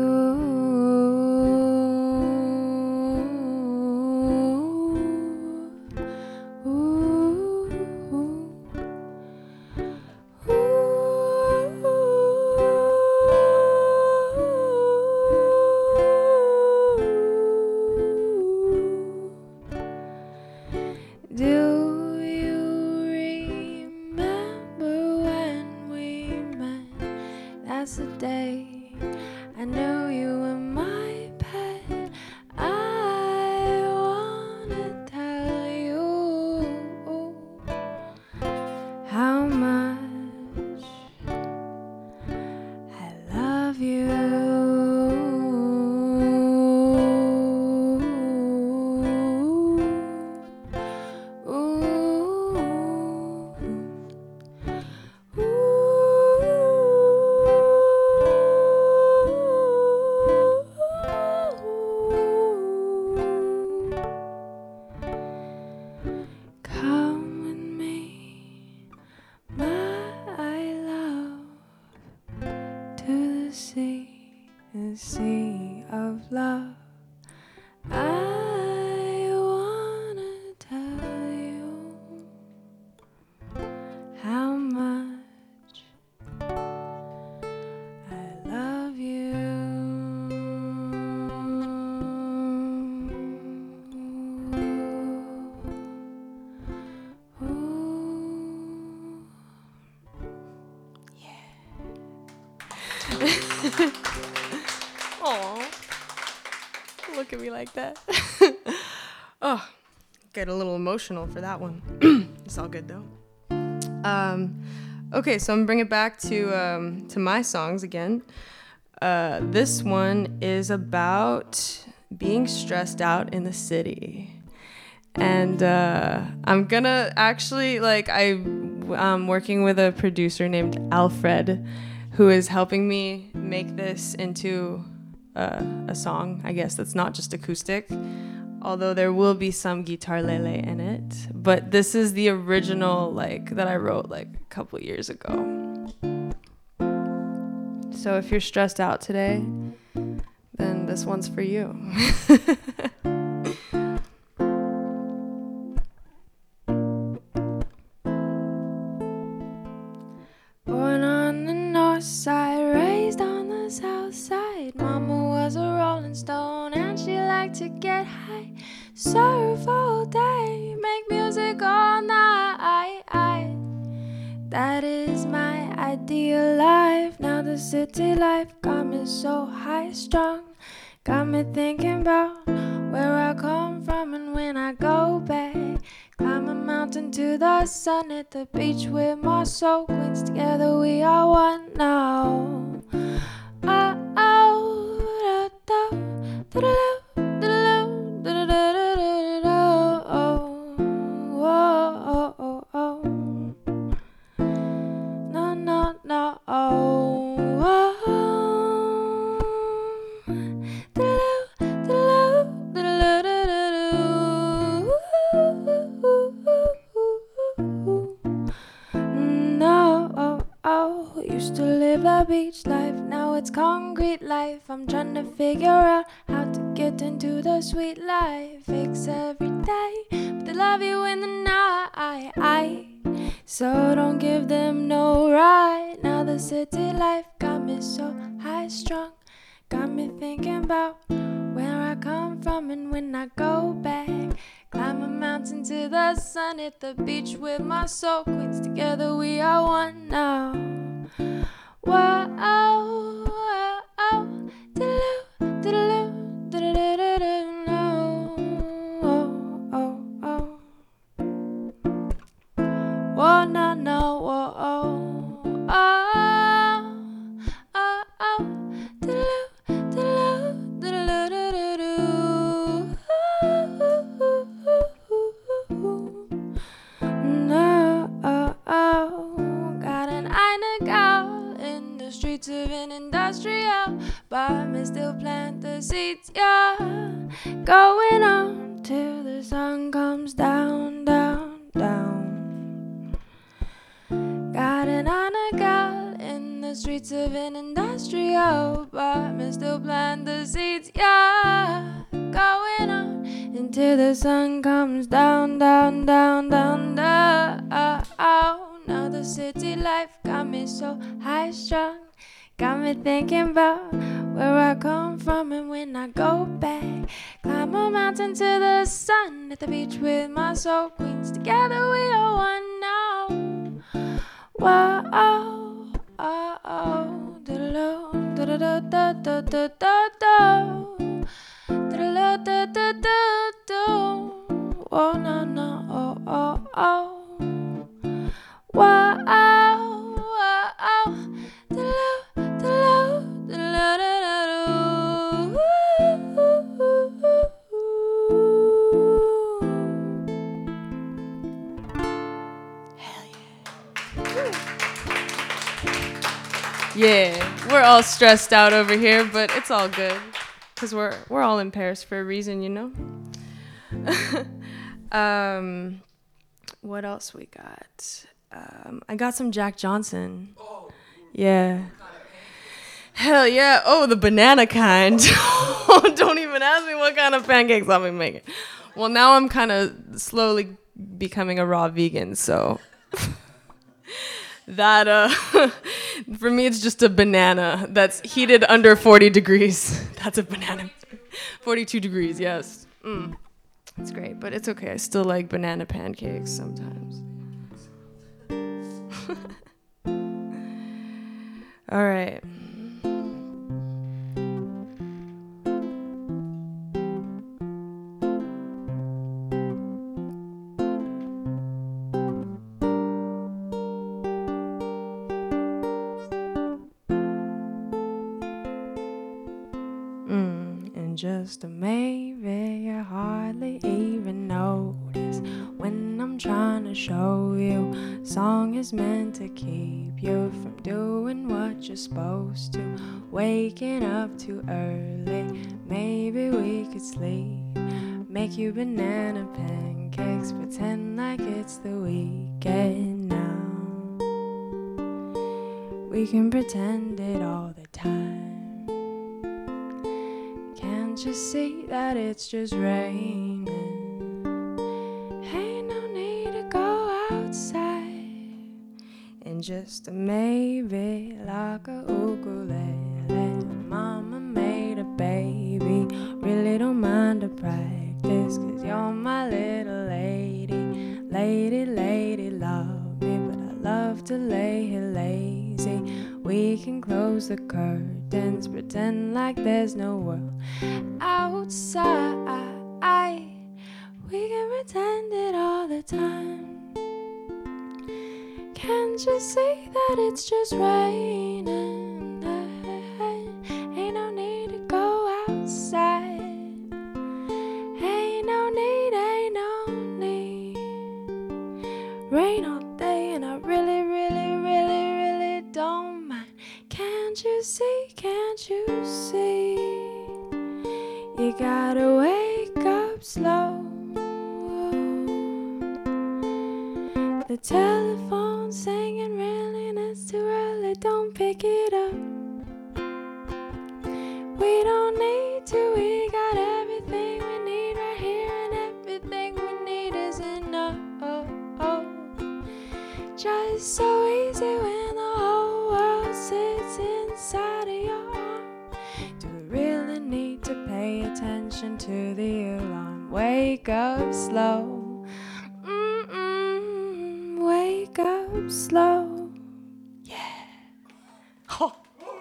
Do you remember when we met? That's the day I knew you were my pet. I wanna tell you how much I love you. Come with me, my love, to the sea of love. I wanna tell you how much I love you. Aw, look at me like that. Oh, get a little emotional for that one. It's all good though. Okay, so I'm gonna bring it back to my songs again. This one is about being stressed out in the city. And I'm gonna actually, I'm working with a producer named Alfred, who is helping me make this into a song, I guess, that's not just acoustic, although there will be some guitar lele in it. But this is the original, that I wrote, a couple years ago. So if you're stressed out today, then this one's for you. alive. Now the city life got me so high strung. Got me thinking about where I come from and when I go back. Climb a mountain to the sun, at the beach with my soul queens. Together we are one now. Oh, oh, da, da, da, da, da, da, da, da, da, da, oh, oh, oh, oh. No, no, no, oh, oh. Used to live the beach life, now it's concrete life. I'm trying to figure out how to get into the sweet life. Fix every day, but they love you in the night. So don't give them no right. Now the city life got me so high strung. Got me thinking about where I come from and when I go back. Climb a mountain to the sun, hit the beach with my soul queens. Together we are one now. Whoa, oh, oh, oh, diddle-oo, diddle-oo, diddle-oo, no. Oh, oh, oh. Whoa, no, no, whoa, oh, oh, oh, oh, diddle-oo, diddle-oo, diddle-oo, diddle-oo. No, oh, oh, got an Eine gal in the streets of an industrial, but me still plant the seeds, yeah. Going on till the sun comes down, down, down. Got an Eine gal in the streets of an industrial, but me still plant the seeds, yeah. Going on until the sun comes down, down, down, down, down. Now the city life got me so high strung. Got me thinking about where I come from and when I go back. Climb a mountain to the sun, at the beach with my soul queens. Together we are one now. Whoa, oh, oh, oh, da-da-do, da-da-do, da-da-do. Oh, no, no, oh, oh, oh. Whoa, oh, oh, oh. Hell yeah. Yeah, we're all stressed out over here, but it's all good. Because we're all in Paris for a reason, you know? What else we got? I got some Jack Johnson. Yeah. Hell yeah. Oh, the banana kind. Don't even ask me what kind of pancakes I'll be making. Well, now I'm kind of slowly becoming a raw vegan, so that for me it's just a banana that's heated under 40 degrees. That's a banana. 42 degrees, yes. It's great, but it's okay. I still like banana pancakes sometimes. All right. And just a maybe you hardly even notice when I'm trying to show you song is meant to keep you from doing what you're supposed to. Waking up too early, maybe we could sleep. Make you banana pancakes, pretend like it's the weekend now. We can pretend it all the time. Can't you see that it's just raining? Ain't no need to go outside. And just a maybe like a ukulele. Mama made a baby, really don't mind the practice, 'cause you're my little lady. Lady, lady, love me, but I love to lay here lazy. We can close the curtains, pretend like there's no world outside. We can pretend it all the time. Can't you see that it's just raining? Ain't no need to go outside. Ain't no need, ain't no need. Rain all day and I really, really, really, really don't mind. Can't you see, can't you see? You gotta wake up slow. The telephone's singing really and it's too early, don't pick it up. We don't need to, we got everything we need right here, and everything we need is enough. Just so easy when the whole world sits inside of your arm. Do we really need to pay attention to the alarm? Wake up slow. Wake up slow. Yeah. Oh.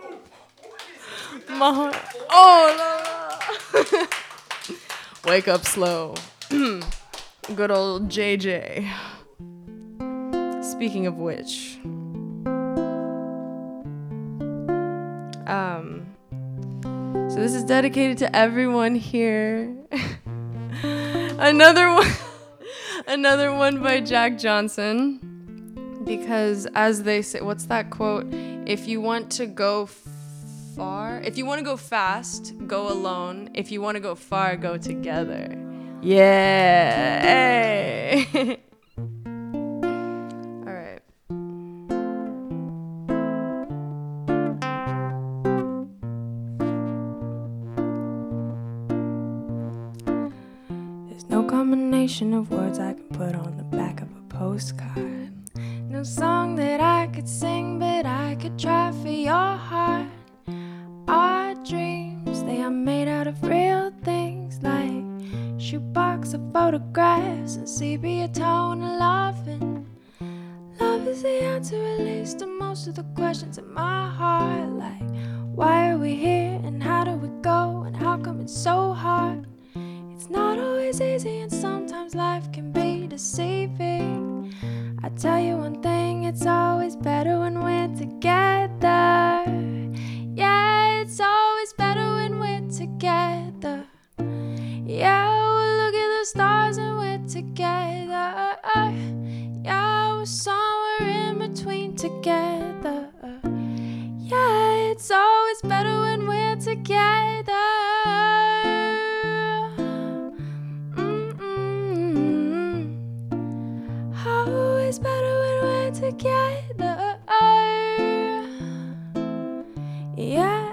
My heart. Oh, no. Wake up slow. Good old JJ. Speaking of which, so this is dedicated to everyone here. Another one by Jack Johnson, because as they say, what's that quote? If you want to go fast, go alone. If you want to go far, go together. Yeah. Hey. All right. There's no combination of words I can put on the back of a postcard. No song that I could sing, but I could try for your heart. Our dreams, they are made out of real things, like shoebox of photographs and sepia tone of loving. Love is the answer, at least, to most of the questions in my heart, like why are we here and how do we go and how come it's so hard? It's not always easy and sometimes life can be deceiving. I tell you one thing, it's always better when we're together. Yeah, it's always better when we're together. Yeah, we'll look at the stars and we're together. Yeah, we're somewhere in between together. Yeah, it's always better when we're together. Always better when we're together. Yeah.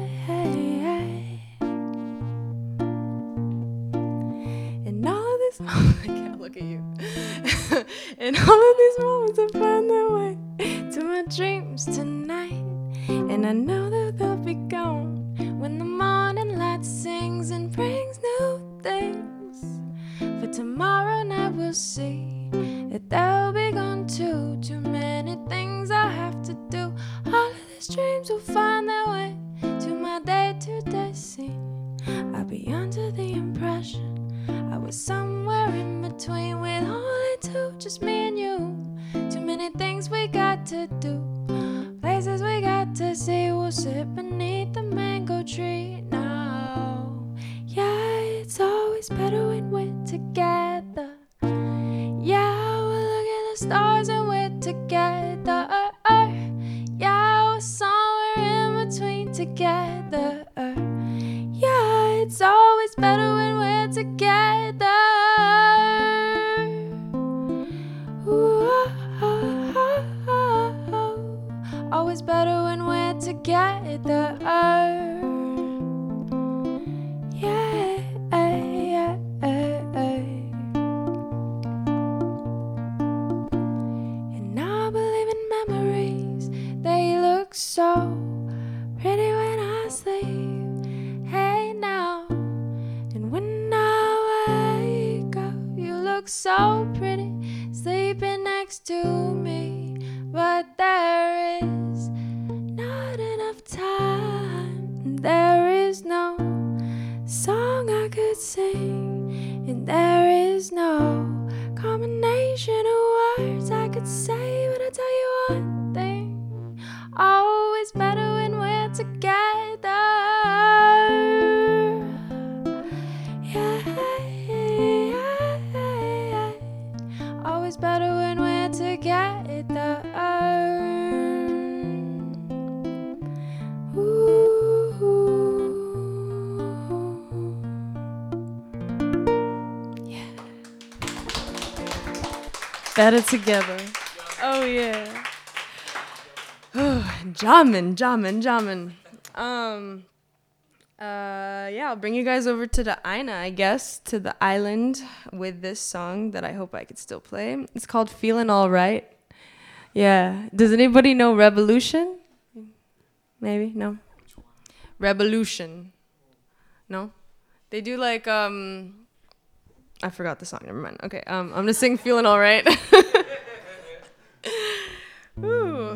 And all of these I can't look at you. And all of these moments will find their way to my dreams tonight. And I know that they'll be gone when the morning light sings and brings new things. For tomorrow night we'll see that they'll be gone too. Too many things I have to do. All of these dreams will find their way to my day-to-day scene. I'll be under the impression I was somewhere in between, with only two, just me and you. Too many things we got to do, places we got to see. We'll sit beneath the mango tree now. Yeah, it's always better when we're together. Yeah, we'll look at the stars and we're together. Yeah, we're somewhere in between together. Yeah, it's always better when we're together. Ooh, always better when we're together. Yeah. And I believe in memories. They look so pretty when I sleep. Hey now, and when I wake up, you look so pretty sleeping next to me. But there is no There is no combination of words I could say, but I tell you one thing, always better when we're together. Yeah, always better when we're together. Better together. Oh yeah. Jamming. Yeah, I'll bring you guys over to the Aina, I guess, to the island with this song that I hope I could still play. It's called Feeling Alright. Yeah. Does anybody know Revolution? Maybe? No? Revolution. No? They do like, I forgot the song, never mind. Okay, I'm gonna sing Feeling Alright. Ooh.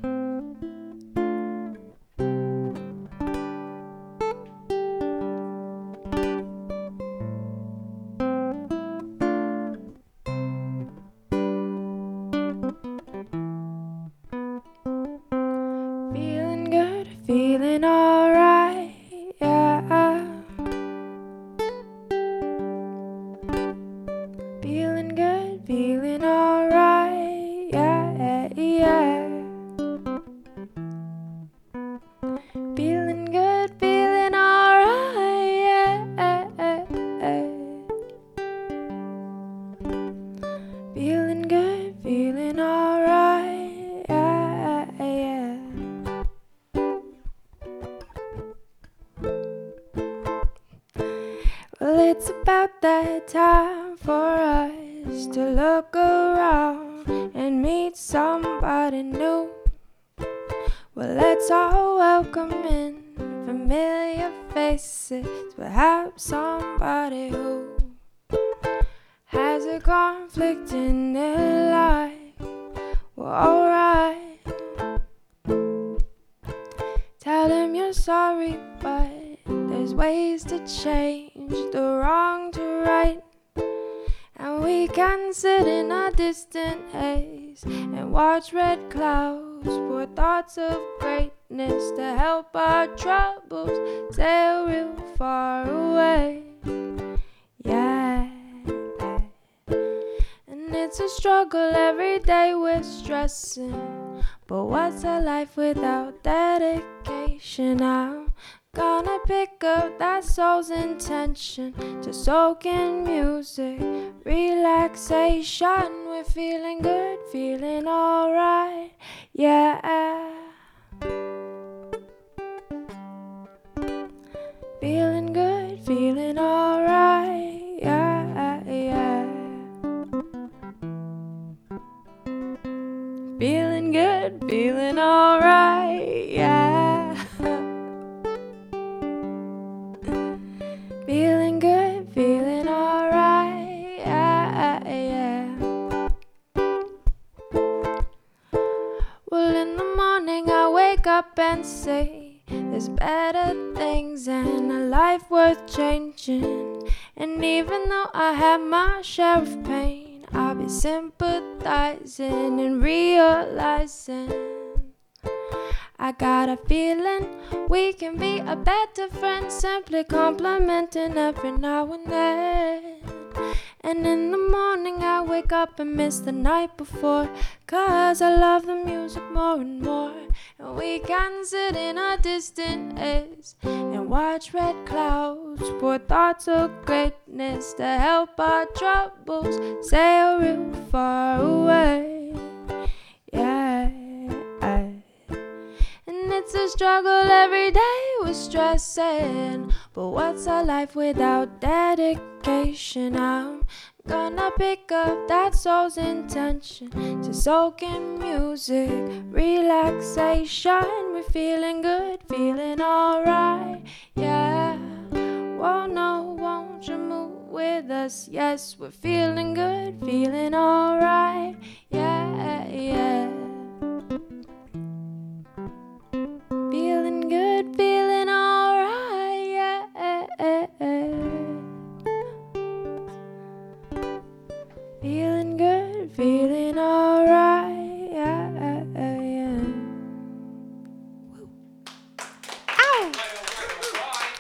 Feeling good, feeling alright, yeah. Feeling good, feeling alright, yeah, yeah. Feeling good, feeling alright, yeah. Feeling good, feeling alright, yeah. Well, it's about that time for us to look around and meet somebody new. Well, let's all welcome in familiar faces, perhaps somebody who has a conflict in their life. Well, alright, tell them you're sorry, but there's ways to change the wrong to right. And we can sit in a distant haze and watch red clouds pour thoughts of greatness to help our troubles sail real far away. Yeah. And it's a struggle every day, we're stressing, but what's a life without dedication? I'm gonna pick up that soul's intention to soak in music, relaxation. We're feeling good, feeling alright, yeah. Feeling good, feeling alright, yeah, yeah. Feeling good, feeling alright, yeah. Feeling good, feeling alright, yeah, yeah. Well, in the morning I wake up and say there's better things and a life worth changing. And even though I have my share of pain, I'll be sympathizing and realizing I got a feeling we can be a better friend, simply complimenting every now and then. And in the morning I wake up and miss the night before, 'cause I love the music more and more. And we can sit in a distant haze and watch red clouds pour thoughts of greatness to help our troubles sail real far away. Yeah. And it's a struggle every day, we're stressing, but what's a life without dedication? I'm gonna pick up that soul's intention to soak in music, relaxation. We're feeling good, feeling alright, yeah. Whoa, no, won't you move with us? Yes, we're feeling good, feeling alright, yeah, yeah. Feeling good, feeling alright, yeah.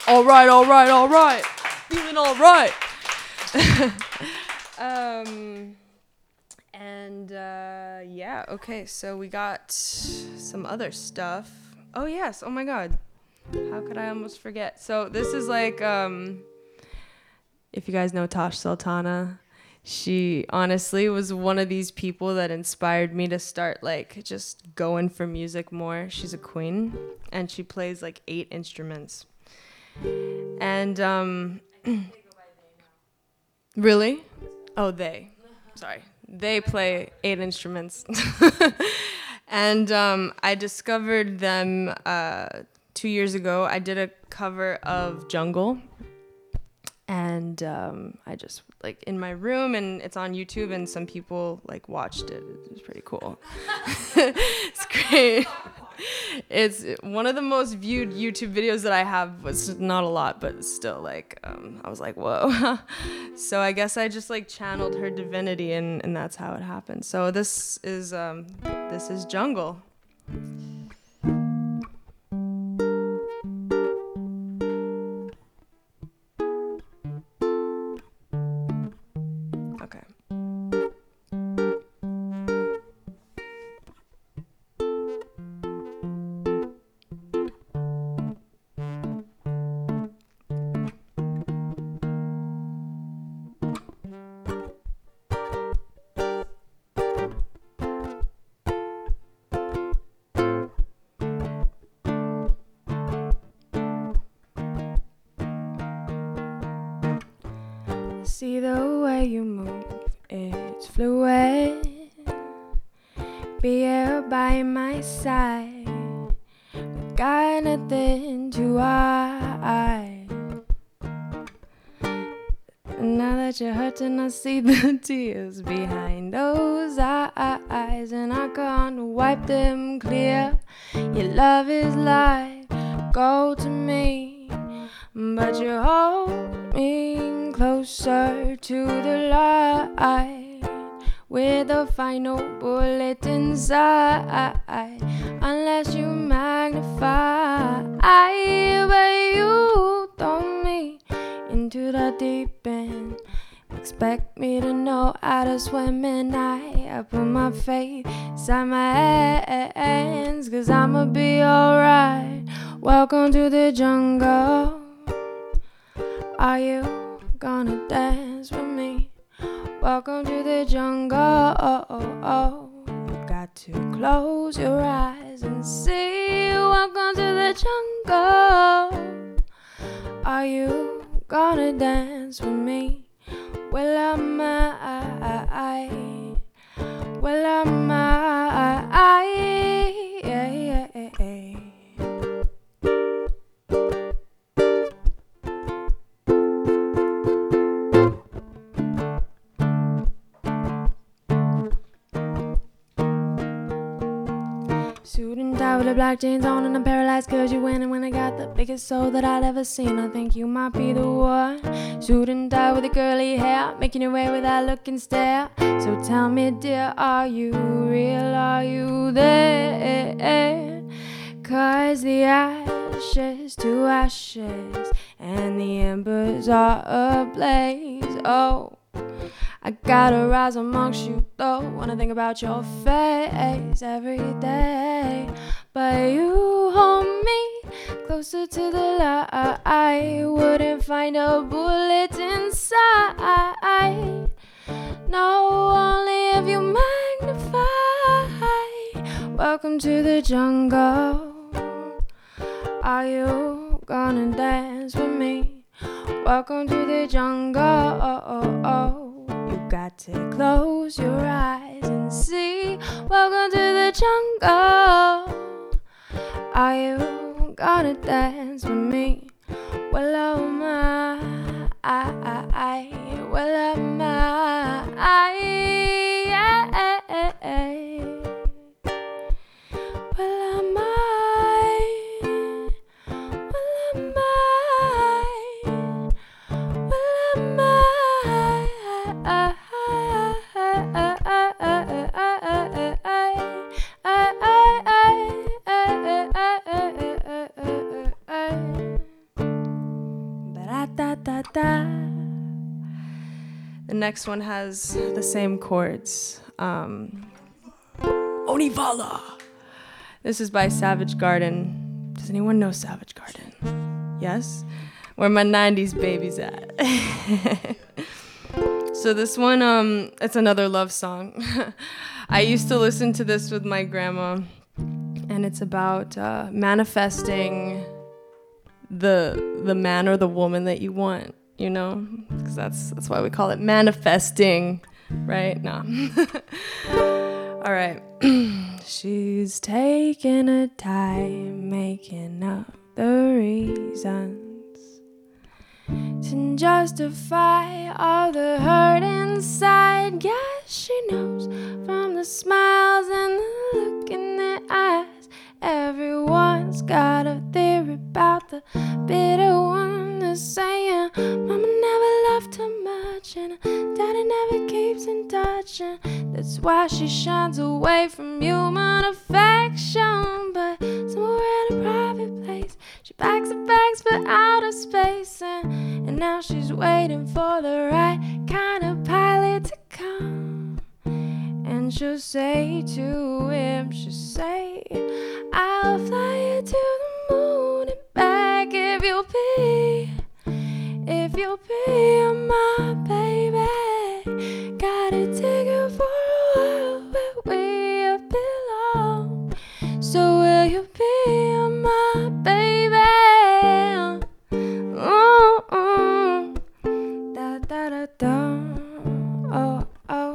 All right, all right, all right. Feeling all right. Yeah, okay, so we got some other stuff. Oh, yes, oh my God. How could I almost forget? So this is like, if you guys know Tosh Sultana, she honestly was one of these people that inspired me to start like just going for music more. She's a queen and she plays like 8 instruments. And really? Oh, they. Sorry. They play 8 instruments. And I discovered them 2 years ago. I did a cover of Jungle. And I just like in my room, and it's on YouTube, and some people like watched it. It was pretty cool. It's great. It's one of the most viewed YouTube videos that I have. Was not a lot, but still, like I was like, whoa. So I guess I just like channeled her divinity, and that's how it happened. So this is Jungle. Okay. See the way you move, it's fluid. Be here by my side. We got nothing to hide. Now that you're hurting, I see the tears behind those eyes, and I can't wipe them clear. Your love is like gold to me, but you hold me closer to the light with a final bullet inside. Unless you magnify, but you throw me into the deep end. Expect me to know how to swim, and I put my faith inside my hands, 'cause I'ma be alright. Welcome to the jungle. Are you gonna dance with me? Welcome to the jungle. You got to close your eyes and see. Welcome to the jungle. Are you gonna dance with me? Well, I'm suit and tie with the black jeans on, and I'm paralyzed 'cause you win. And when I got the biggest soul that I'd ever seen, I think you might be the one. Suit and tie with the curly hair, making your way without looking stare. So tell me, dear, are you real? Are you there? 'Cause the ashes to ashes, and the embers are ablaze. Oh, I gotta rise amongst you though. Wanna think about your face every day, but you hold me closer to the light. I wouldn't find a bullet inside. No, only if you magnify. Welcome to the jungle. Are you gonna dance with me? Welcome to the jungle. You got to close your eyes and see. Welcome to the jungle. Are you gonna dance with me? Well, oh my, well, oh my, well, am I? next one has the same chords. Onivala. This is by Savage Garden. Does anyone know Savage Garden? Yes? Where my 90s babies at? So this one, it's another love song. I used to listen to this with my grandma, and it's about manifesting the man or the woman that you want, you know? Because that's why we call it manifesting, right? No. All right. She's taking her time making up the reasons to justify all the hurt inside. Yes, she knows from the smiles and the look in their eyes. Everyone's got a theory about the bitter one. They're saying mama never loved her much and daddy never keeps in touch, and that's why she shines away from human affection. But somewhere in a private place she packs her bags for outer space, and now she's waiting for the right kind of pilot to come. And she'll say to him, she'll say, I'll fly you to the moon and back if you'll be my baby. Got a ticket for a world where we belong. So will you be my baby? Da da da da. Oh oh.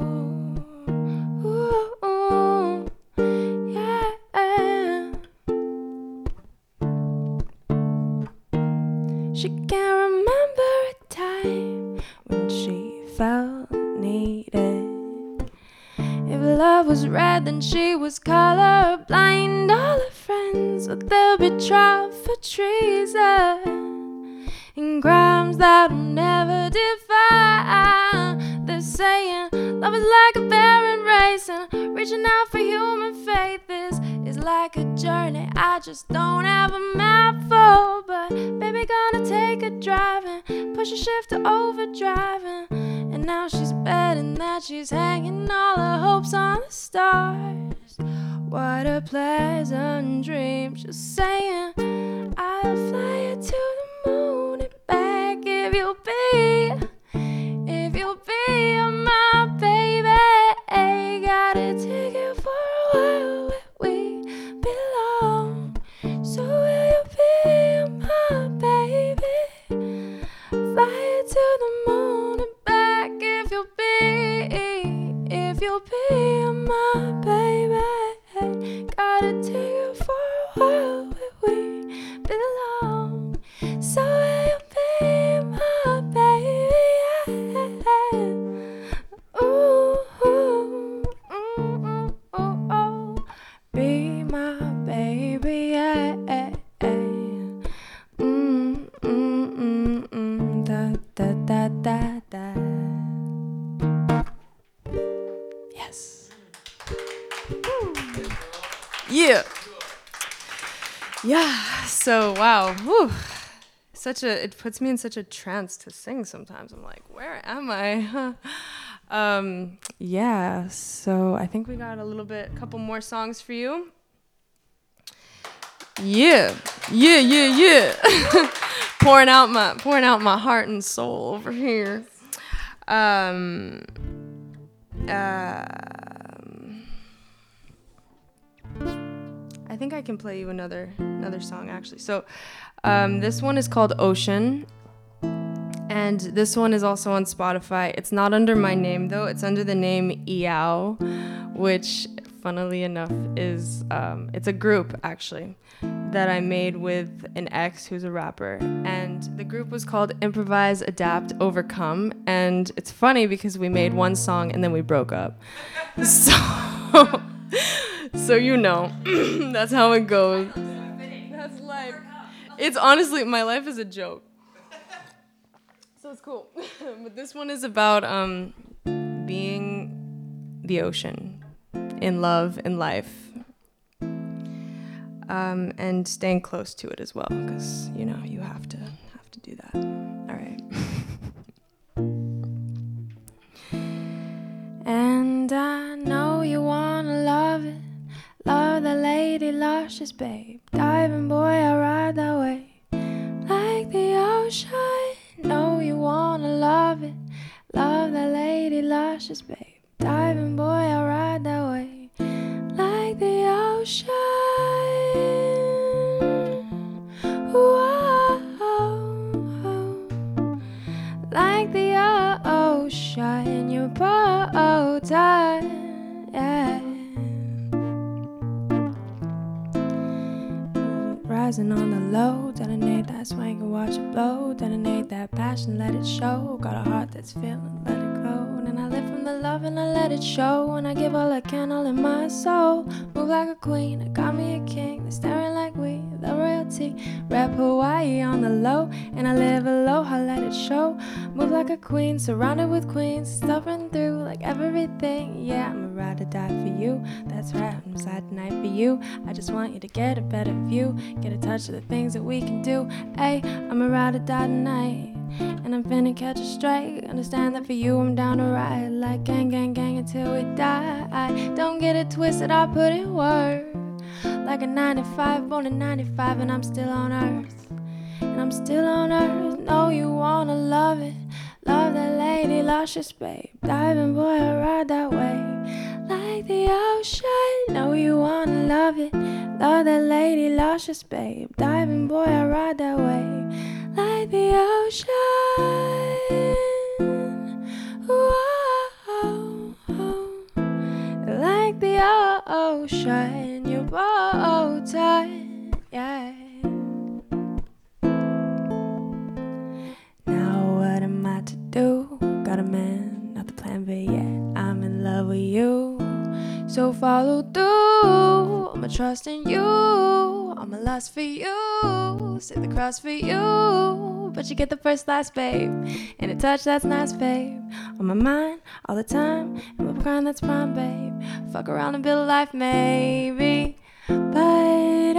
She can't remember a time when she felt needed. If love was red, then she was colorblind. All her friends, but they'll be trial for treason and crimes that'll never define. They're saying love is like a barren race, and reaching out for human faith is like a journey I just don't have a map for. But baby, gonna take a drive and push a shift to overdriving. And now she's betting that she's hanging all her hopes on the stars. What a pleasant dream. She's saying, I'll fly you to the moon and back if you'll be my baby. Got a ticket for a world where we belong. So will you be my baby? Fly you to the moon and back if you'll be my baby. Got a ticket for a world where we belong. So will you be my baby? Ooh, ooh, ooh, ooh, ooh. Be my baby, yeah. Da da da da da. Yes. Yeah. Yeah. So wow. Whew. It puts me in such a trance to sing sometimes. I'm like, where am I? Yeah. So I think we got a couple more songs for you. Yeah. pouring out my heart and soul over here. I think I can play you another song actually. So this one is called Ocean, and this one is also on Spotify. It's not under my name though. It's under the name Eow, which funnily enough is it's a group actually that I made with an ex who's a rapper, and the group was called Improvise, Adapt, Overcome. And it's funny because we made one song and then we broke up. So you know, that's how it goes. That's life. It's honestly, my life is a joke. So it's cool. But this one is about being the ocean in love, in life. And staying close to it as well, because you know you have to do that. All right. And I know you wanna love it. Love the lady luscious, babe. Diving boy, I ride that way. Like the ocean. Know you wanna love it. Love the lady luscious, babe. Diving boy, I ride that way. Like the ocean. Whoa. Like the ocean, your bow tie, yeah. Rising on the low, detonate that swing and watch it blow. Detonate that passion, let it show. Got a heart that's feeling, let it grow. And I live from the love and I let it show. And I give all I can, all in my soul. Move like a queen, I got me a king. They're staring like we, the royalty. Rap Hawaii on the low, and I live aloha, let it show. Move like a queen, surrounded with queens. Stuffing through like everything. Yeah, I'm a ride or die for you. That's right, I'm sad tonight for you. I just want you to get a better view. Get a touch of the things that we can do. Ay, I'm a ride or die tonight. And I'm finna catch a strike. Understand that for you I'm down to ride. Like gang, gang, gang until we die. Don't get it twisted, I put in work. Like a 9 to 5, born in 95, and I'm still on earth. And I'm still on earth. Know you wanna love it. Love that lady luscious, babe. Diving boy, I ride that way. Like the ocean. Know you wanna love it. Love that lady luscious, babe. Diving boy, I ride that way. Like the ocean. Whoa. Like the ocean, your bow tie, yeah. Now what am I to do? Got a man, not the plan B yet. I'm in love with you, so follow through. I'ma trust in you, I'ma lust for you, sit the cross for you. But you get the first slice, babe, and a touch that's nice, babe. On my mind all the time, and my prime that's prime, babe. Fuck around and build a life, maybe. But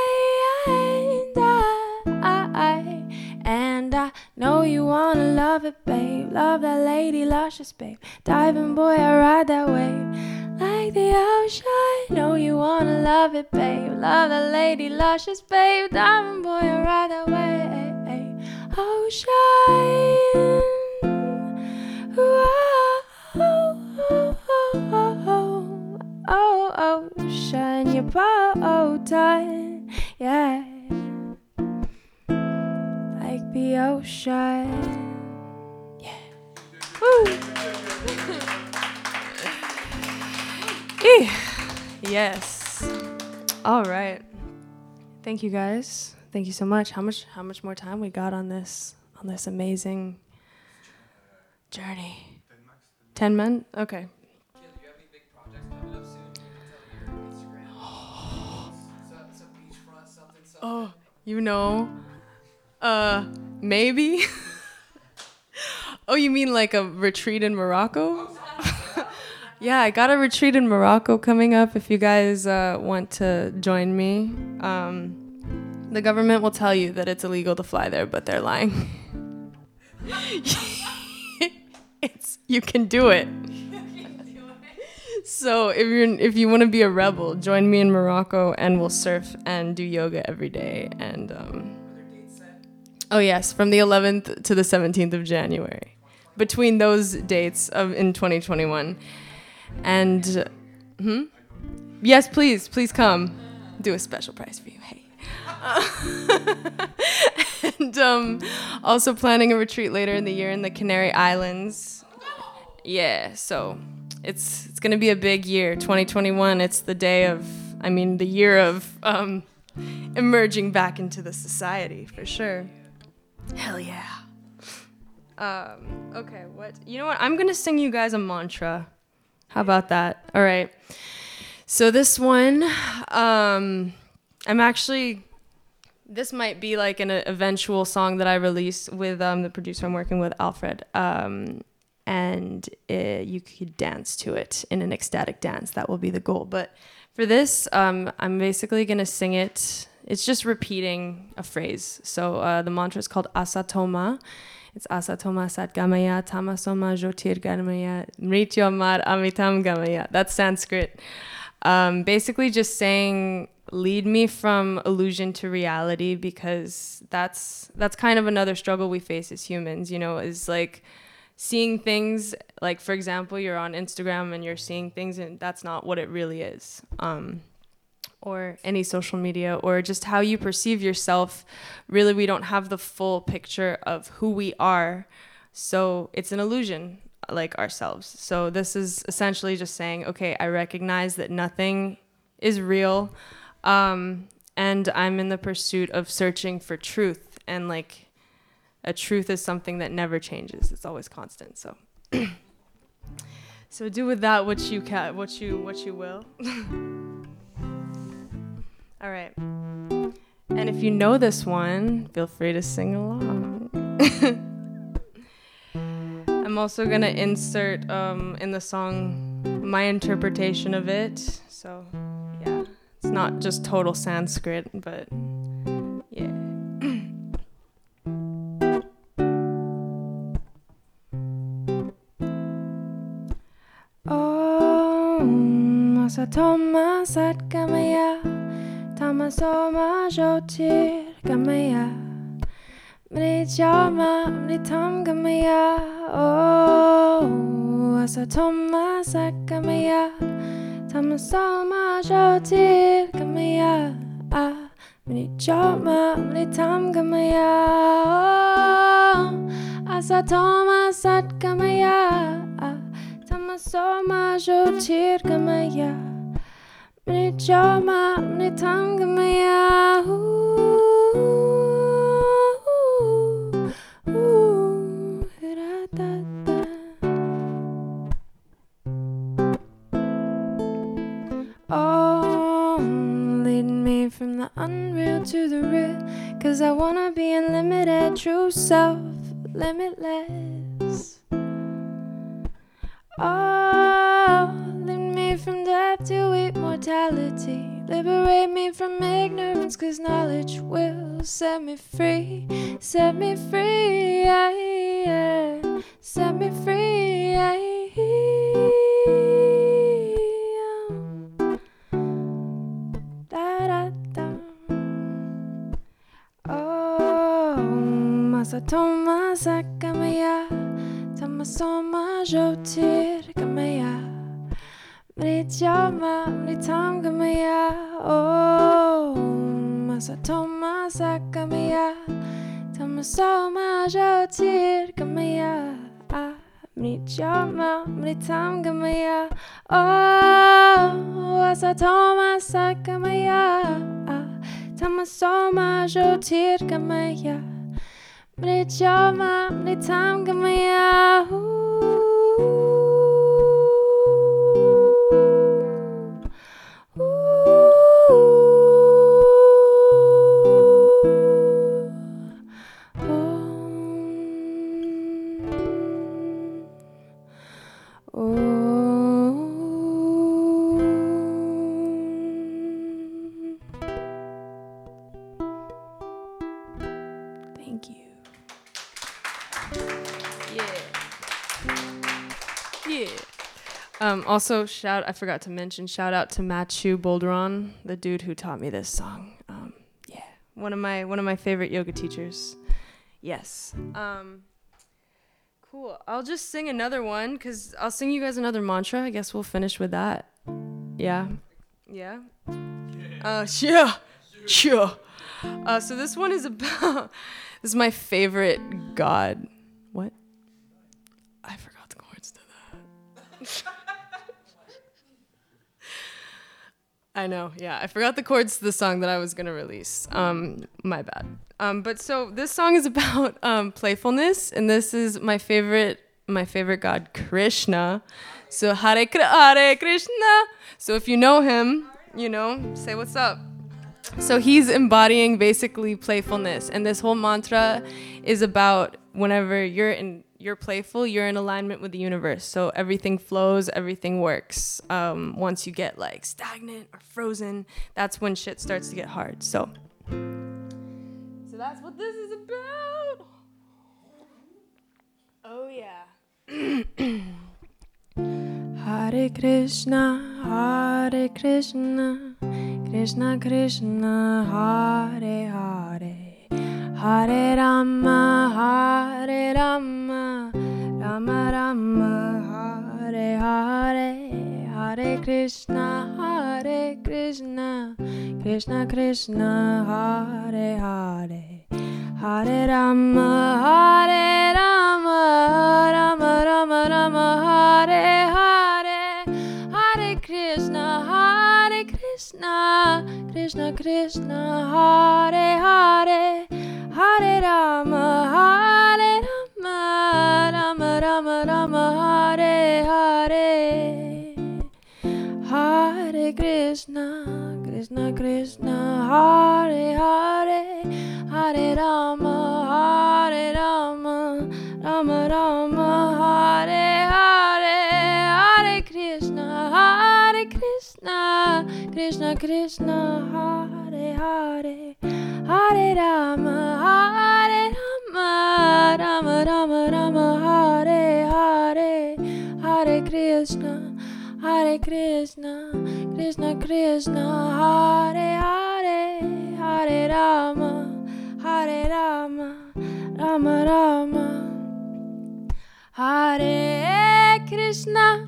I know you wanna love it, babe. Love that lady luscious, babe. Diving boy, I ride that wave. Like the ocean, know you wanna love it, babe. Love that lady luscious, babe. Diving boy, I ride that way. Ocean, ocean, your bow tie, yeah. Like the ocean, yeah. Woo. Yes. All right. Thank you guys. Thank you so much. How much more time we got on this amazing journey? 10 men? Okay. Do you have any big projects coming up soon? Tell your Instagram. Some beachfront, something. Oh, you know, maybe. Oh, you mean like a retreat in Morocco? Yeah, I got a retreat in Morocco coming up if you guys want to join me. The government will tell you that it's illegal to fly there, but they're lying. You can do it. So if you want to be a rebel, join me in Morocco and we'll surf and do yoga every day. And oh yes, from the 11th to the 17th of January. Between those dates in 2021. And yes, please come. Do a special price for you. Hey. And also planning a retreat later in the year in the Canary Islands. Yeah, so it's gonna be a big year. 2021. It's the year of emerging back into the society for sure. Hell yeah. Okay, you know what? I'm gonna sing you guys a mantra. How about that? All right. So this one, this might be like an eventual song that I release with the producer I'm working with, Alfred. And you could dance to it in an ecstatic dance. That will be the goal. But for this, I'm basically going to sing it it's just repeating a phrase. So the mantra is called Asatoma. It's Asatoma Satgamaya Tamasoma Jyotirgamaya Mrityomar Amitam Gamaya. That's Sanskrit. Basically just saying, lead me from illusion to reality, because that's kind of another struggle we face as humans, you know, is like seeing things, like for example, you're on Instagram and you're seeing things and that's not what it really is. Or any social media, or just how you perceive yourself. Really, we don't have the full picture of who we are. So it's an illusion, like ourselves. So this is essentially just saying, okay, I recognize that nothing is real. And I'm in the pursuit of searching for truth. And like a truth is something that never changes. It's always constant. So so do with that what you will. All right. And if you know this one, feel free to sing along. I'm also going to insert in the song my interpretation of it. So, yeah, it's not just total Sanskrit, but yeah. Om Asatoma Satgamaya Tamasoma Jyotirgamaya Mrityoma Amritam Gamaya. Oh, Asatoma Satgamaya Tamasoma Jyotirgamaya Mrityoma Amritam Gamaya. Oh, Asatoma Satgamaya Tamasoma Jyotirgamaya Mrityoma Amritam Gamaya. Oh, lead me from the unreal to the real, 'cause I wanna be unlimited, true self, limitless. Oh, lead me from death to immortality. Liberate me from ignorance, 'cause knowledge will set me free. Set me free, set me free. Da-da-da. Oh, Asatoma Satgamaya Tamasoma Jyotirgamaya Mrityoma Amritam Gamaya. Oh, Asatoma Satgamaya Tamasoma Jyotirgamaya Mrityoma Amritam Gamaya. Oh, Asatoma Satgamaya Tamasoma Jyotirgamaya Mrityoma Amritam Gamaya. Thank you. Yeah. Also, I forgot to mention, shout out to Machu Bolderon, the dude who taught me this song. Yeah, one of my favorite yoga teachers. Yes. Cool. I'll just sing another one, because I'll sing you guys another mantra. I guess we'll finish with that. Yeah. Yeah. Sure. So this one is about. This is my favorite god. What? I forgot the chords to that. I know, yeah. I forgot the chords to the song that I was gonna release. My bad. But so this song is about playfulness, and this is my favorite god, Krishna. So Hare Krishna. So if you know him, you know, say what's up. So he's embodying basically playfulness, and this whole mantra is about whenever you're playful, you're in alignment with the universe. So everything flows, everything works. Once you get like stagnant or frozen, that's when shit starts to get hard. So So that's what this is about. Oh yeah. Hare Krishna, Hare Krishna, Krishna Krishna, Hare Hare, Hare Rama, Hare Rama, Rama Rama, Hare Hare, Hare Krishna, Hare Krishna, Krishna Krishna, Hare Hare, Hare Rama, Hare Rama, Rama Rama Rama, Hare Hare, Hare Krishna, Krishna Krishna, Hare Hare, Hare Rama, Hare Rama, Rama Rama Rama, Hare Hare, Hare Krishna, Krishna Krishna, Hare Hare, Hare Rama, Hare Rama, Rama Rama, Hare Hare, Hare Krishna, Krishna Krishna, Hare Hare, Hare Rama, Hare Rama, Rama Rama Rama, Hare Hare, Hare Krishna, Krishna Krishna, Hare Hare, Hare Rama, Rama Rama, Hare Krishna,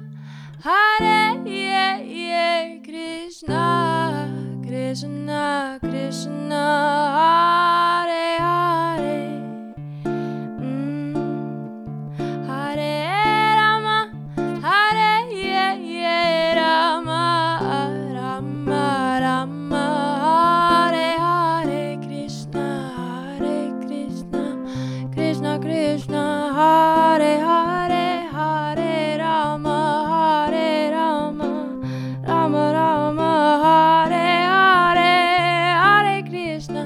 Hare Krishna, Krishna Krishna, Hare Hare, Hare Rama, Hare Rama, Rama Rama, Hare Hare, Krishna, Krishna Krishna, Hare Hare, Hare Rama, Rama Rama, Hare Hare, Hare Krishna,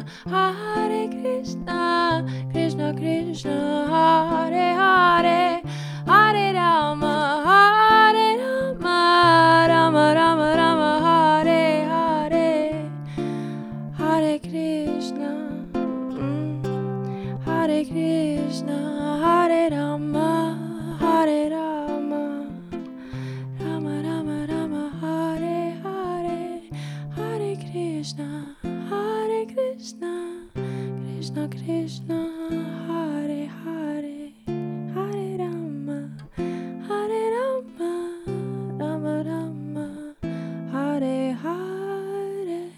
Krishna Krishna, Hare Hare, Hare Rama, Rama Rama Rama, Hare Hare, Hare Krishna, Hare Krishna, Hare Rama, Rama Rama Rama, Hare Hare, Hare Krishna, Krishna Krishna, Hare Hare, Hare Rama, Rama Rama, Hare Hare.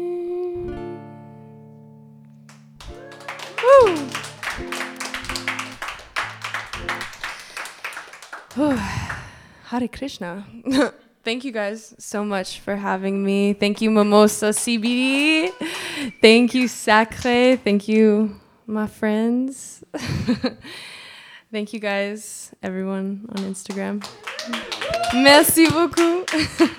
Woo! Hare Krishna. Thank you guys so much for having me. Thank you, Mimosa CBD. Thank you, Sacre. Thank you, my friends. Thank you guys, everyone on Instagram. Merci beaucoup.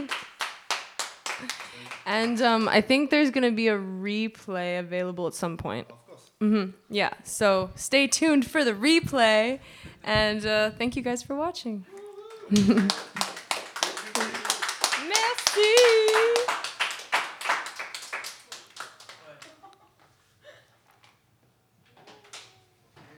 And I think there's going to be a replay available at some point. Of course. Yeah, so stay tuned for the replay. And thank you guys for watching. Merci.